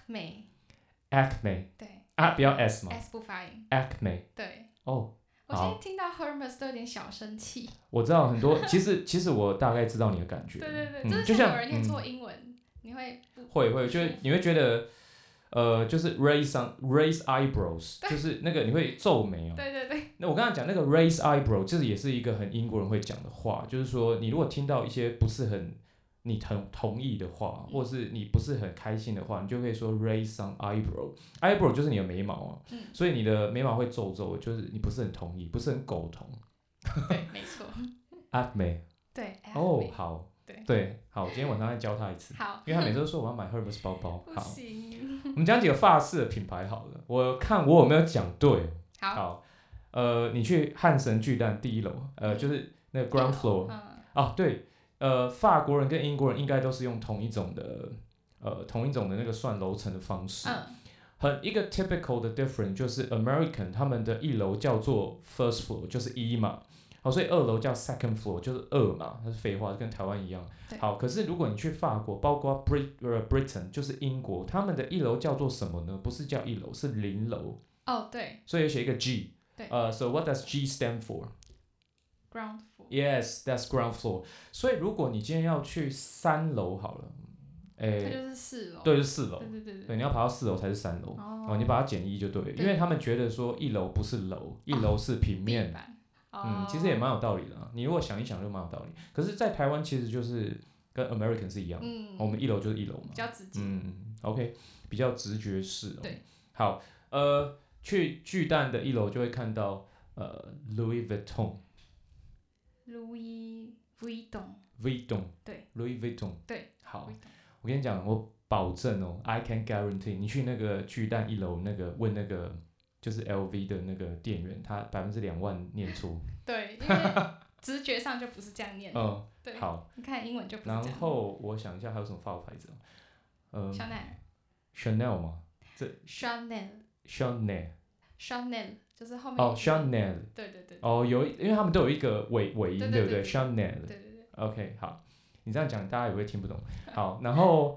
Acme， 对啊，不要 S 嘛 ，S 不发音 ，Acme。 对。 哦， 我现在听到 Hermes 都有点小生气。 我知道很多，其实我大概知道你的感觉。 对对对， 就像有人念错英文，你会会，就是你会觉得，就是 raise eyebrows， 就是那个你会皱眉哦。 对对对。 那我刚才讲那个 raise eyebrow， 就是也是一个很英国人会讲的话，就是说你如果听到一些不是很你同意的话，或者是你不是很开心的话，你就可以说 raise some eyebrow。eyebrow 就是你的眉毛啊，所以你的眉毛会皱皱，就是你不是很同意，不是很苟同。 对，没错。 Acme。 对。 哦，好。 对， 好，今天晚上再教他一次。 好， 因为他每次都说我要买 Hermes 包包。 不行。 我们讲几个法式的品牌好了，我看我有没有讲对。 好。 你去汉神巨蛋第1楼，就是那个 ground floor。哦，对，法国人跟英国人应该都是用同一种的那个算楼层的方式。一个 typical 的 difference 就是 American 他们的1楼叫做 first floor， 就是1嘛。好，所以2楼叫 second floor， 就是2嘛，那是废话，跟台湾一样。好，可是如果你去法国，包括 Britain 就是英国，他们的1楼叫做什么呢？不是叫1楼，是0楼。 哦，对。 所以写一个 G。 对。 So what does G stand for? Ground floor. Yes, that's ground floor. 所以如果你今天要去3楼好了， 它就是4楼。 对，就是4楼。 对， 你要爬到4楼才是3楼。你把它减1就对了，因为他们觉得说1楼不是楼，1楼是平面。其实也蛮有道理的啊。你如果想一想就蛮有道理。可是，在台湾其实就是跟 American 是一样的。我们1楼就是1楼嘛。 比较直接。 OK， 比较直觉式哦。 对。 好，去巨蛋的1楼就会看到Louis Vuitton。Louis Vuitton。 对。 Louis Vuitton。 对。 好，我跟你讲，我保证哦 ，I can guarantee， 你去那个巨蛋1楼那个问那个。就是 LV 的那个店员，他2万念错。 对，因为直觉上就不是这样念。对。 好。 你看英文就不是这样。 然后我想一下还有什么法国牌子 Chanel 吗？ Chanel 就是后面。 Chanel。 对。 因为他们都有一个尾音，对不对 ？Chanel。 对。 OK， 好，你这样讲大家也会听不懂。好，然后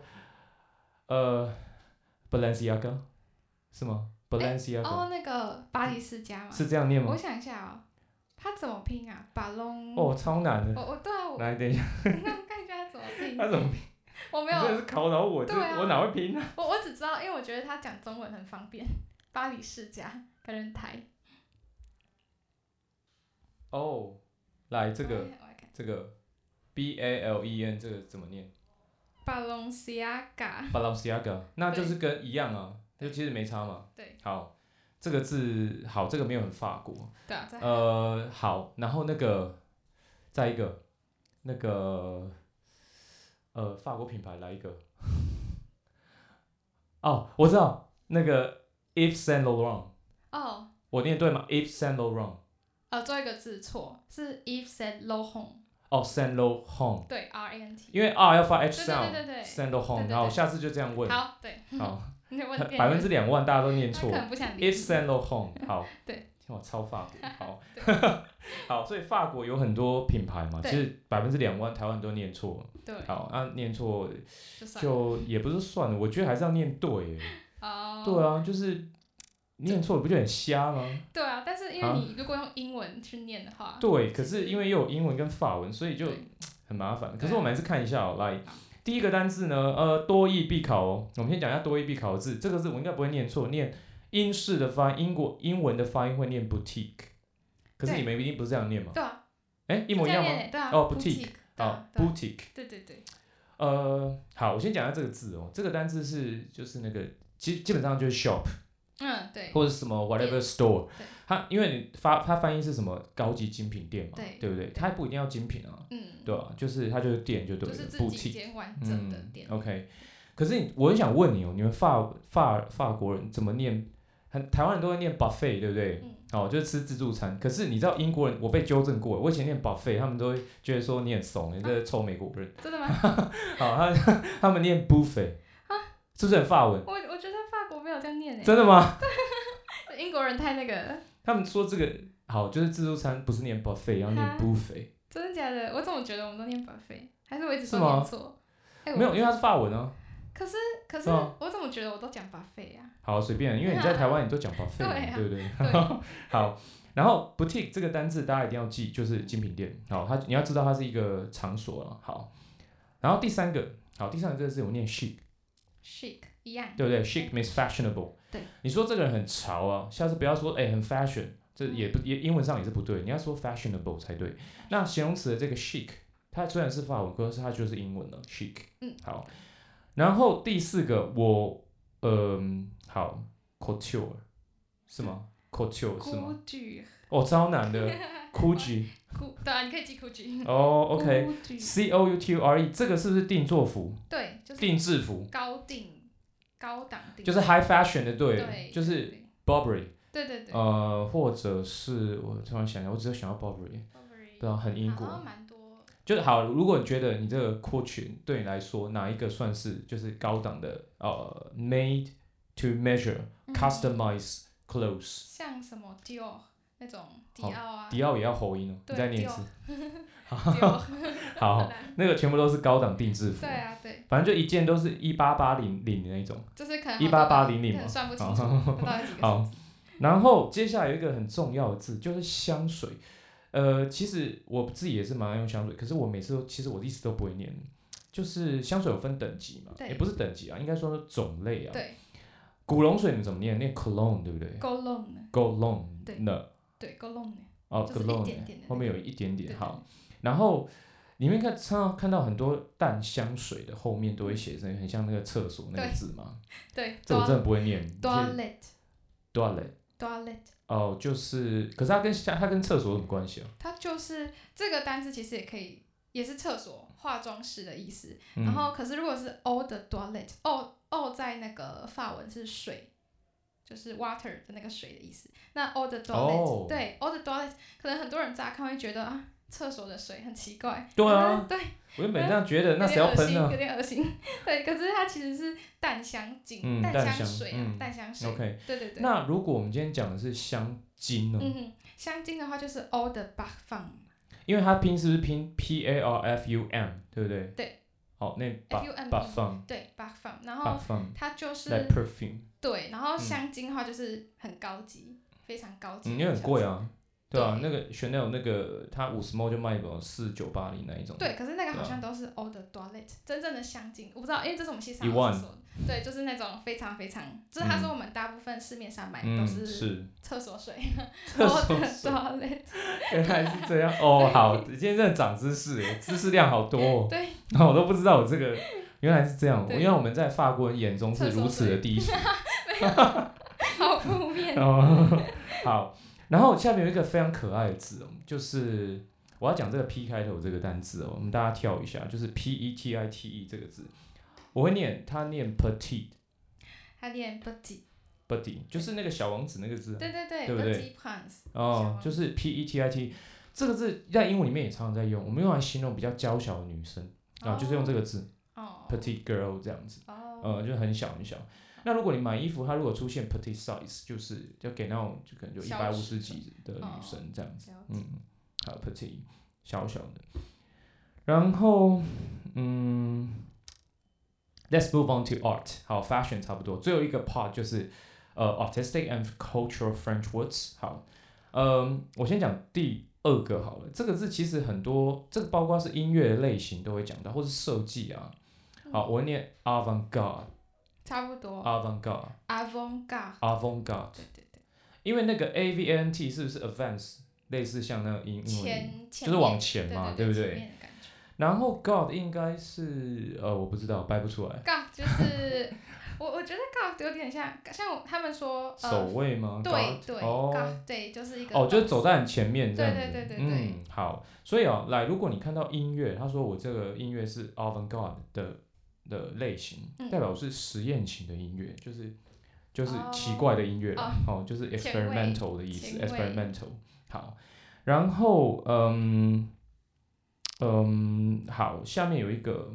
Balenciaga 是吗？ 那个巴黎世家嘛。 是这样念吗？ 我想一下哦，它怎么拼啊？巴隆。 超难的。 对啊。 来，等一下。 看一下它怎么拼。 它怎么拼？ 我没有。 真的是考倒我，我哪会拼啊？ 我只知道，因为我觉得他讲中文很方便。巴黎世家，感觉很台。 来这个BALEN 这个怎么念？Balenciaga， 那就是跟一样啊。就其实没差嘛。 对。 好，这个字好，这个没有很法国。 对啊。 好，然后再一个那个法国品牌来一个。我知道那个 Yves Saint Laurent。我念对吗 ？Yves Saint Laurent。 最后一个字错，是 Yves Saint Laurent。 Saint Laurent。 对 ，RANT。 因为 R 要发 H sound。 对。 Saint Laurent。好，下次就这样问。 好，对。 好。 2 万大家都念错。 他可能不想理。 Yves Saint Laurent。好。 对。 哇，超法国。好。好，所以法国有很多品牌嘛，其实2万台湾都念错。 对。 好，念错就也不是算了，我觉得还是要念对。对啊，就是念错了不就很瞎吗？ 对啊，但是因为你如果用英文去念的话。 对，可是因为又有英文跟法文，所以就很麻烦。可是我们还是看一下来。第一个单字呢，多益必考哦。我们先讲一下多益必考的字，这个字我应该不会念错，念英式的发音，英文的发音会念 boutique， 可是你们一定不是这样念嘛？ 对啊。 一模一样吗？ 对啊。 boutique。boutique。 对。 好，我先讲一下这个字哦。这个单字就是那个，基本上就是 shop。 对。 或者什么 whatever store。它因为它翻译是什么高级精品店嘛，对不对？它不一定要精品啊。对吧？就是它就是店就对了， 就是自己一间完整的店。 OK， 可是我很想问你哦，你们法国人怎么念台湾人都会念 buffet， 对不对？就是吃自助餐。可是你知道英国人，我被纠正过，我以前念 buffet， 他们都会觉得说你很怂，你这臭美国人。 真的吗？ 好，他们念 buffet， 是不是很法文？ 我觉得法国没有这样念真的吗？ 英国人太那个。 他们说这个好，就是自助餐不是念 buffet， 要念 buffet。 真的假的？我怎么觉得我们都念 buffet， 还是我一直都念错？ 没有，因为它是法文啊。 可是我怎么觉得我都讲 buffet 啊？ 好，随便，因为你在台湾你都讲 buffet， 对不对？好，然后 boutique 这个单字大家一定要记，就是精品店。好，你要知道它是一个场所了。好，然后第三个这个字我念 chic 一样， 对不对 ？chic means fashionable。 对， 你说这个人很潮啊，下次不要说很 fashion， 这也英文上也是不对，你要说 fashionable 才对。那形容词的这个 chic， 它虽然是法文，可是它就是英文了 chic。好。然后第四个好 couture 是吗 ？couture 是吗？超难的 couture。 对啊，你可以记 couture。 OK couture 这个是不是定做服？ 对，就是定制服。 高档定。 就是 high fashion 的，对，就是 Burberry。 对。 或者是我突然想到，我只有想到 Burberry。对啊，很英国。 好像蛮多。 就是好，如果你觉得你这个 couture 对你来说哪一个算是就是高档的made to measure、customize clothes， 像什么 Dior 那种迪奥啊， 迪奥也要喉音哦，你再念一次。好，那个全部都是高档定制服。 对啊，对。 反正就一件都是18800的那种。 就是可能 18800嘛， 算不清楚到底几个数字。 好，然后接下来有一个很重要的字就是香水。其实我自己也是蛮爱用香水，可是我每次其实我一直都不会念。就是香水有分等级嘛，也不是等级啊，应该说是种类啊。 对。 古龙水你怎么念？念 cologne 对不对 ？cologne。对 cologne。 就是一点点的。 后面有一点点。好，然后里面看到很多淡香水的后面都会写成很像那个厕所那个字嘛。 对。 这我真的不会念。 toilet。 就是，可是它跟厕所有什么关系啊？ 它就是这个单字其实也是厕所化妆室的意思。然后可是如果是 eau de toilette，eau 在那个法文是水，就是 water 的那个水的意思。那 eau de toilette，对 eau de toilette， 可能很多人乍看会觉得啊，厕所的水很奇怪。 对啊。 对。 我原本这样觉得，那谁要喷呢？ 有点恶心。对，可是它其实是淡香精、淡香水啊，淡香水。 OK。 对。 那如果我们今天讲的是香精呢？ 香精的话就是 eau de parfum。 因为它拼是不是拼 PARFUM， 对不对？ 对。 那 parfum。 对 parfum， 然后它就是 like perfume。 对，然后香精的话就是很高级，非常高级。 因为很贵啊。对啊，那个 Chanel 那个它50ml 就卖4980那一种。 对，可是那个好像都是 eau de toilette， 真正的香精我不知道，因为这是我们系上老师说的。对，就是那种非常非常，就是他说我们大部分市面上买的都是厕所水。eau de toilette。 原来是这样好，今天真的长知识，知识量好多哦。 对。 我都不知道我这个原来是这样，因为我们在法国人眼中是如此的低俗。 好负面。 好。然后下面有一个非常可爱的字就是我要讲这个 P 开头这个单字我们大家跳一下，就是 PETITE 这个字，我会念，它念 petite， 它念 petite， 就是那个小王子那个字， 对不对？ Prince， 就是 PETITE 这个字在英文里面也常常在用，我们用来形容比较娇小的女生就是用这个字petite girl 这样子，就很小很小。那如果你买衣服，它如果出现 petite size， 就给那种就可能就150几的女生这样子。还有 petite 小小的。然后let's move on to art。好 ，fashion 差不多，最后一个 part 就是artistic and cultural French words。好，我先讲第2个好了。这个字其实很多，这个包括是音乐的类型都会讲到，或是设计啊。好，我会念 avant-garde。 差不多 avant-garde。 对。 因为那个 AVANT 是不是 advance， 类似像那个英文就是往前嘛，对不对？然后 God 应该是我不知道，掰不出来。 God 就是我觉得 God 有点像他们说守卫吗？ 对 God 对，就是一个就是走在很前面这样子。 对。 好，所以来，如果你看到音乐，他说我这个音乐是 avant-garde 的类型，代表是实验型的音乐，就是就是奇怪的音乐啦，就是 experimental 的意思 ，experimental。好，然后好，下面有一个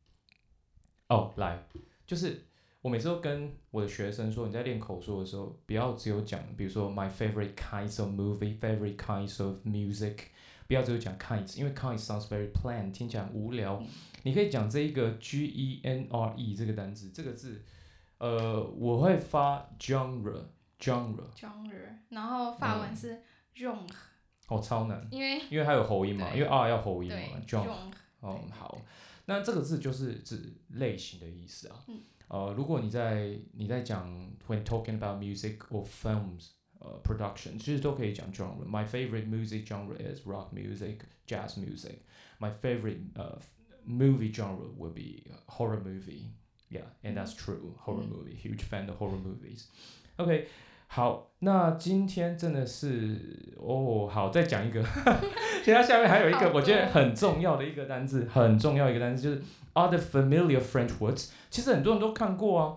来，就是我每次都跟我的学生说，你在练口说的时候，不要只有讲，比如说 my favorite kinds of movie, favorite kinds of music， 不要只有讲 kinds， 因为 kinds sounds very plain， 听起来很无聊。你可以讲这一个 genre 这个单字，这个字，我会发 genre， 然后法文是 genre， 超难， 因为它有喉音嘛，因为 R 要喉音嘛 genre， 好，那这个字就是指类型的意思啊。如果你在讲 when talking about music or films production， 其实都可以讲 genre。My favorite music genre is rock music, jazz music. My favorite movie genre will be horror movie. Yeah, and that's true. Horror movie, huge fan of horror movies. OK， 好，那今天真的是好，再讲一个，其实它下面还有一个我觉得很重要的一个单字，就是 other familiar French words。其实很多人都看过啊。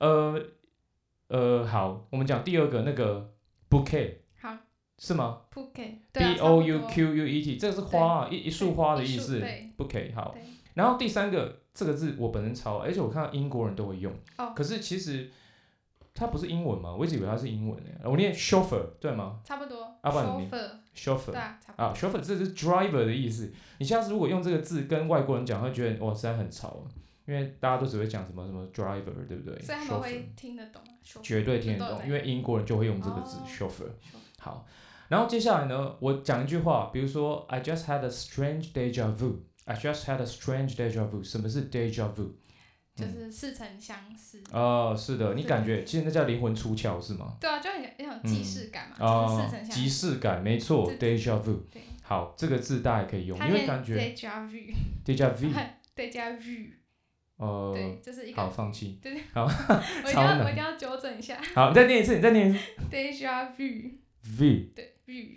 好，我们讲第二个那个 bouquet。 好。 是吗 ？bouquet。 B-O-U-Q-U-E-T， 这个是花啊，一束花的意思。bouquet 好。然后第三个这个字我本身抄，而且我看到英国人都会用。可是其实它不是英文嘛，我一直以为它是英文诶。我念 chauffeur 对吗？ 差不多。 chauffeur 对啊，差不多。 chauffeur 这是 driver 的意思。你下次如果用这个字跟外国人讲，会觉得实在很潮，因为大家都只会讲什么什么 driver， 对不对？ 所以他们会听得懂吗？ 绝对听得懂，因为英国人就会用这个字 chauffeur。好，然后接下来呢，我讲一句话，比如说 I just had a strange deja vu。I just had a strange deja vu。什么是 deja vu？ 就是似曾相识。 是的，你感觉其实那叫灵魂出窍是吗？ 对啊，就很有一种既视感嘛，就是似曾相识。 即视感，没错 ，deja vu。好，这个字大家也可以用，因为感觉 deja vu，deja vu，deja vu。对，就是一个。 好，放弃。 对， 好， 我一定要纠正一下。 好，你再念一次。 deja vu。对 vu。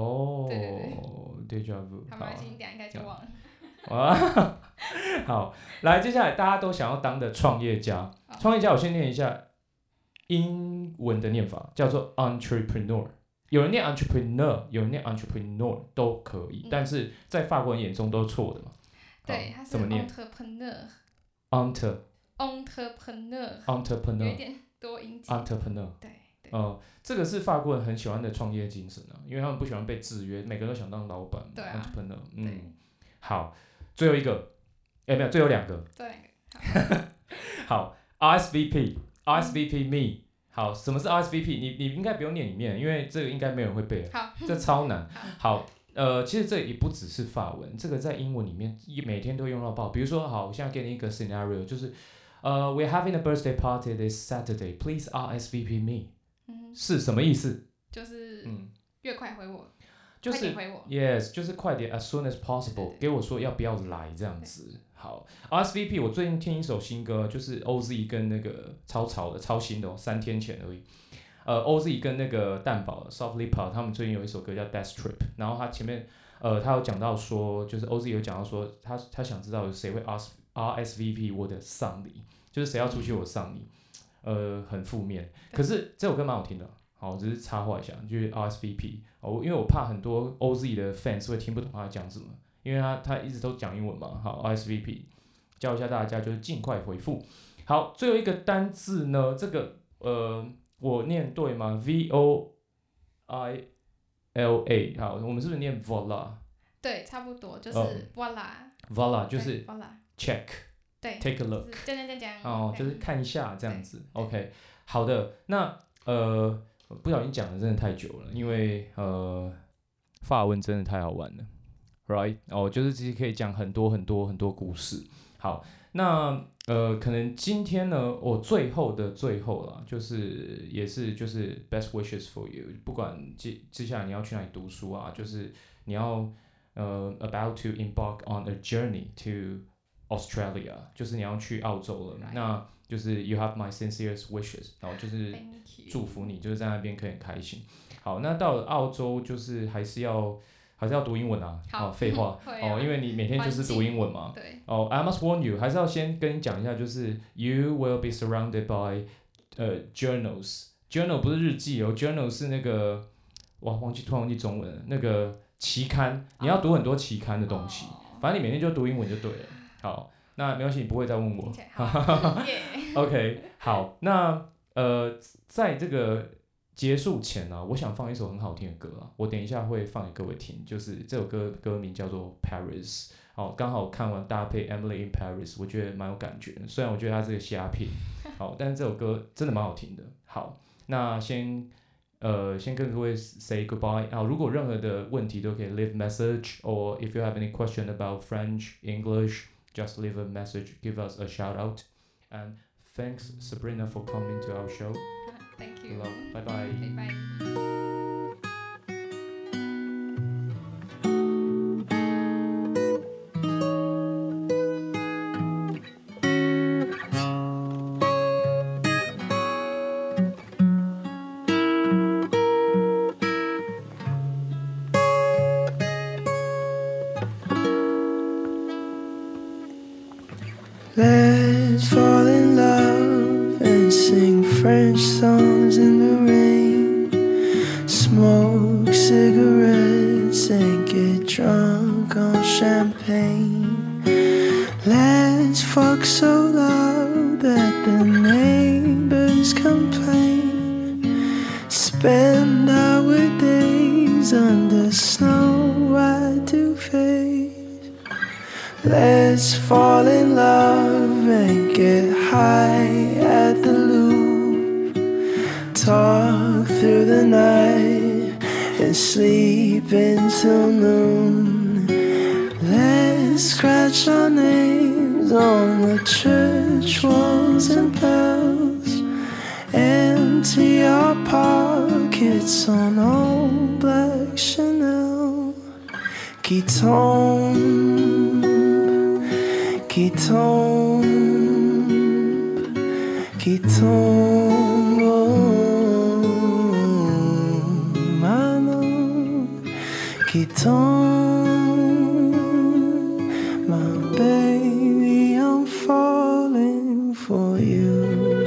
deja vu。 好，没关系，你等下应该就忘了。 好，来，接下来大家都想要当的创业家，我先念一下英文的念法，叫做 entrepreneur。有人念 entrepreneur， 有人念 entrepreneur 都可以，但是在法国人眼中都是错的嘛。 对，它是 entrepreneur， 有一点多音节。 entrepreneur。对。这个是法国人很喜欢的创业精神啊，因为他们不喜欢被制约，每个人都想当老板。 对啊 entrepreneur。好。最后一个，没有，最后两个。好，RSVP me。好，什么是 RSVP？ 你应该不用念里面，因为这个应该没有人会背。 好， 这超难。好，其实这也不只是法文，这个在英文里面每天都用到爆。比如说，好，我现在给你一个 scenario， 就是we're having a birthday party this Saturday. Please RSVP me。是什么意思？ 就是越快回我。 就是快点回我 ，yes， 就是快点 ，as soon as possible， 给我说要不要来这样子。好 ，RSVP， 我最近听一首新歌，就是 OZ 跟那个超潮的、超新的3天前而已。OZ 跟那个蛋堡 Softly Pop， 他们最近有一首歌叫 Death Trip， 然后他前面他有讲到说，就是 OZ 有讲到说，他想知道有谁会 RSVP 我的丧礼，就是谁要出席我丧礼，很负面。可是这首歌蛮好听的。好，只是插话一下，就是 RSVP 因为我怕很多 OZ 的 fans 会听不懂他讲什么，因为他一直都讲英文嘛。好 ，RSVP 教一下大家，就是尽快回复。好，最后一个单字呢，这个我念对吗 ？Voila。好，我们是不是念 voila？ 对，差不多，就是 voila。voila 就是 check。 对 ，take a look。就是看一下这样子。OK， 好的，那不小心讲的真的太久了，因为法文真的太好玩了 ，right？ 就是其实可以讲很多很多很多故事。好，那可能今天呢，我最后啦，就是也是就是 best wishes for you， 不管接下来你要去哪里读书啊，就是你要about to embark on a journey to Australia， 就是你要去澳洲了，那就是 you have my sincerest wishes， 然后就是祝福你，就是在那边可以很开心。好，那到了澳洲就是还是要读英文啊。好，废话因为你每天就是读英文嘛。 对。 I must warn you， 还是要先跟你讲一下，就是 you will be surrounded by journals，journal 不是日记哦 ，journal 是那个突然忘记中文了，那个期刊，你要读很多期刊的东西，反正你每天就读英文就对了。好，那没关系，你不会再问我。OK， 好，那在这个结束前呢，我想放一首很好听的歌啊，我等一下会放给各位听，就是这首歌名叫做 Paris。好，刚好看完搭配 Emily in Paris， 我觉得蛮有感觉的。虽然我觉得它是个虾片，好，但是这首歌真的蛮好听的。好，那先跟各位 say goodbye。好，如果任何的问题都可以 leave message，or if you have any question about French, English, just leave a message, give us a shout out. And thanks Sabrina for coming to our show. Thank you. Bye bye. Bye. Let's fall in love and sing French songs in the rain. Smoke cigarettes and get drunk on champagne. Let's fuck so loud that the neighbors complain. Spend our days under snow-white duvets. Let's fall in love and get high at the Louvre. Talk through the night and sleep until noon. Let's scratch our names on the church walls and bells. Empty our pockets on old black Chanel. Qui tombe, qui tombe, qui tombe, oh, Manon, qui tombe, my baby, I'm falling for you.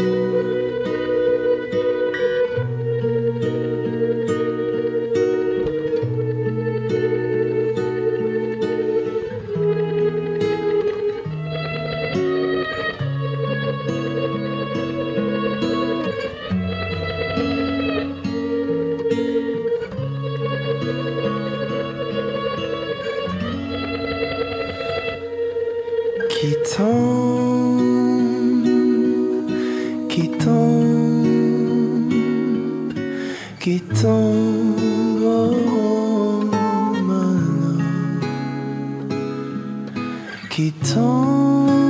Qui tombe, qui tombe, qui tombe, oh, my love. Qui tombe.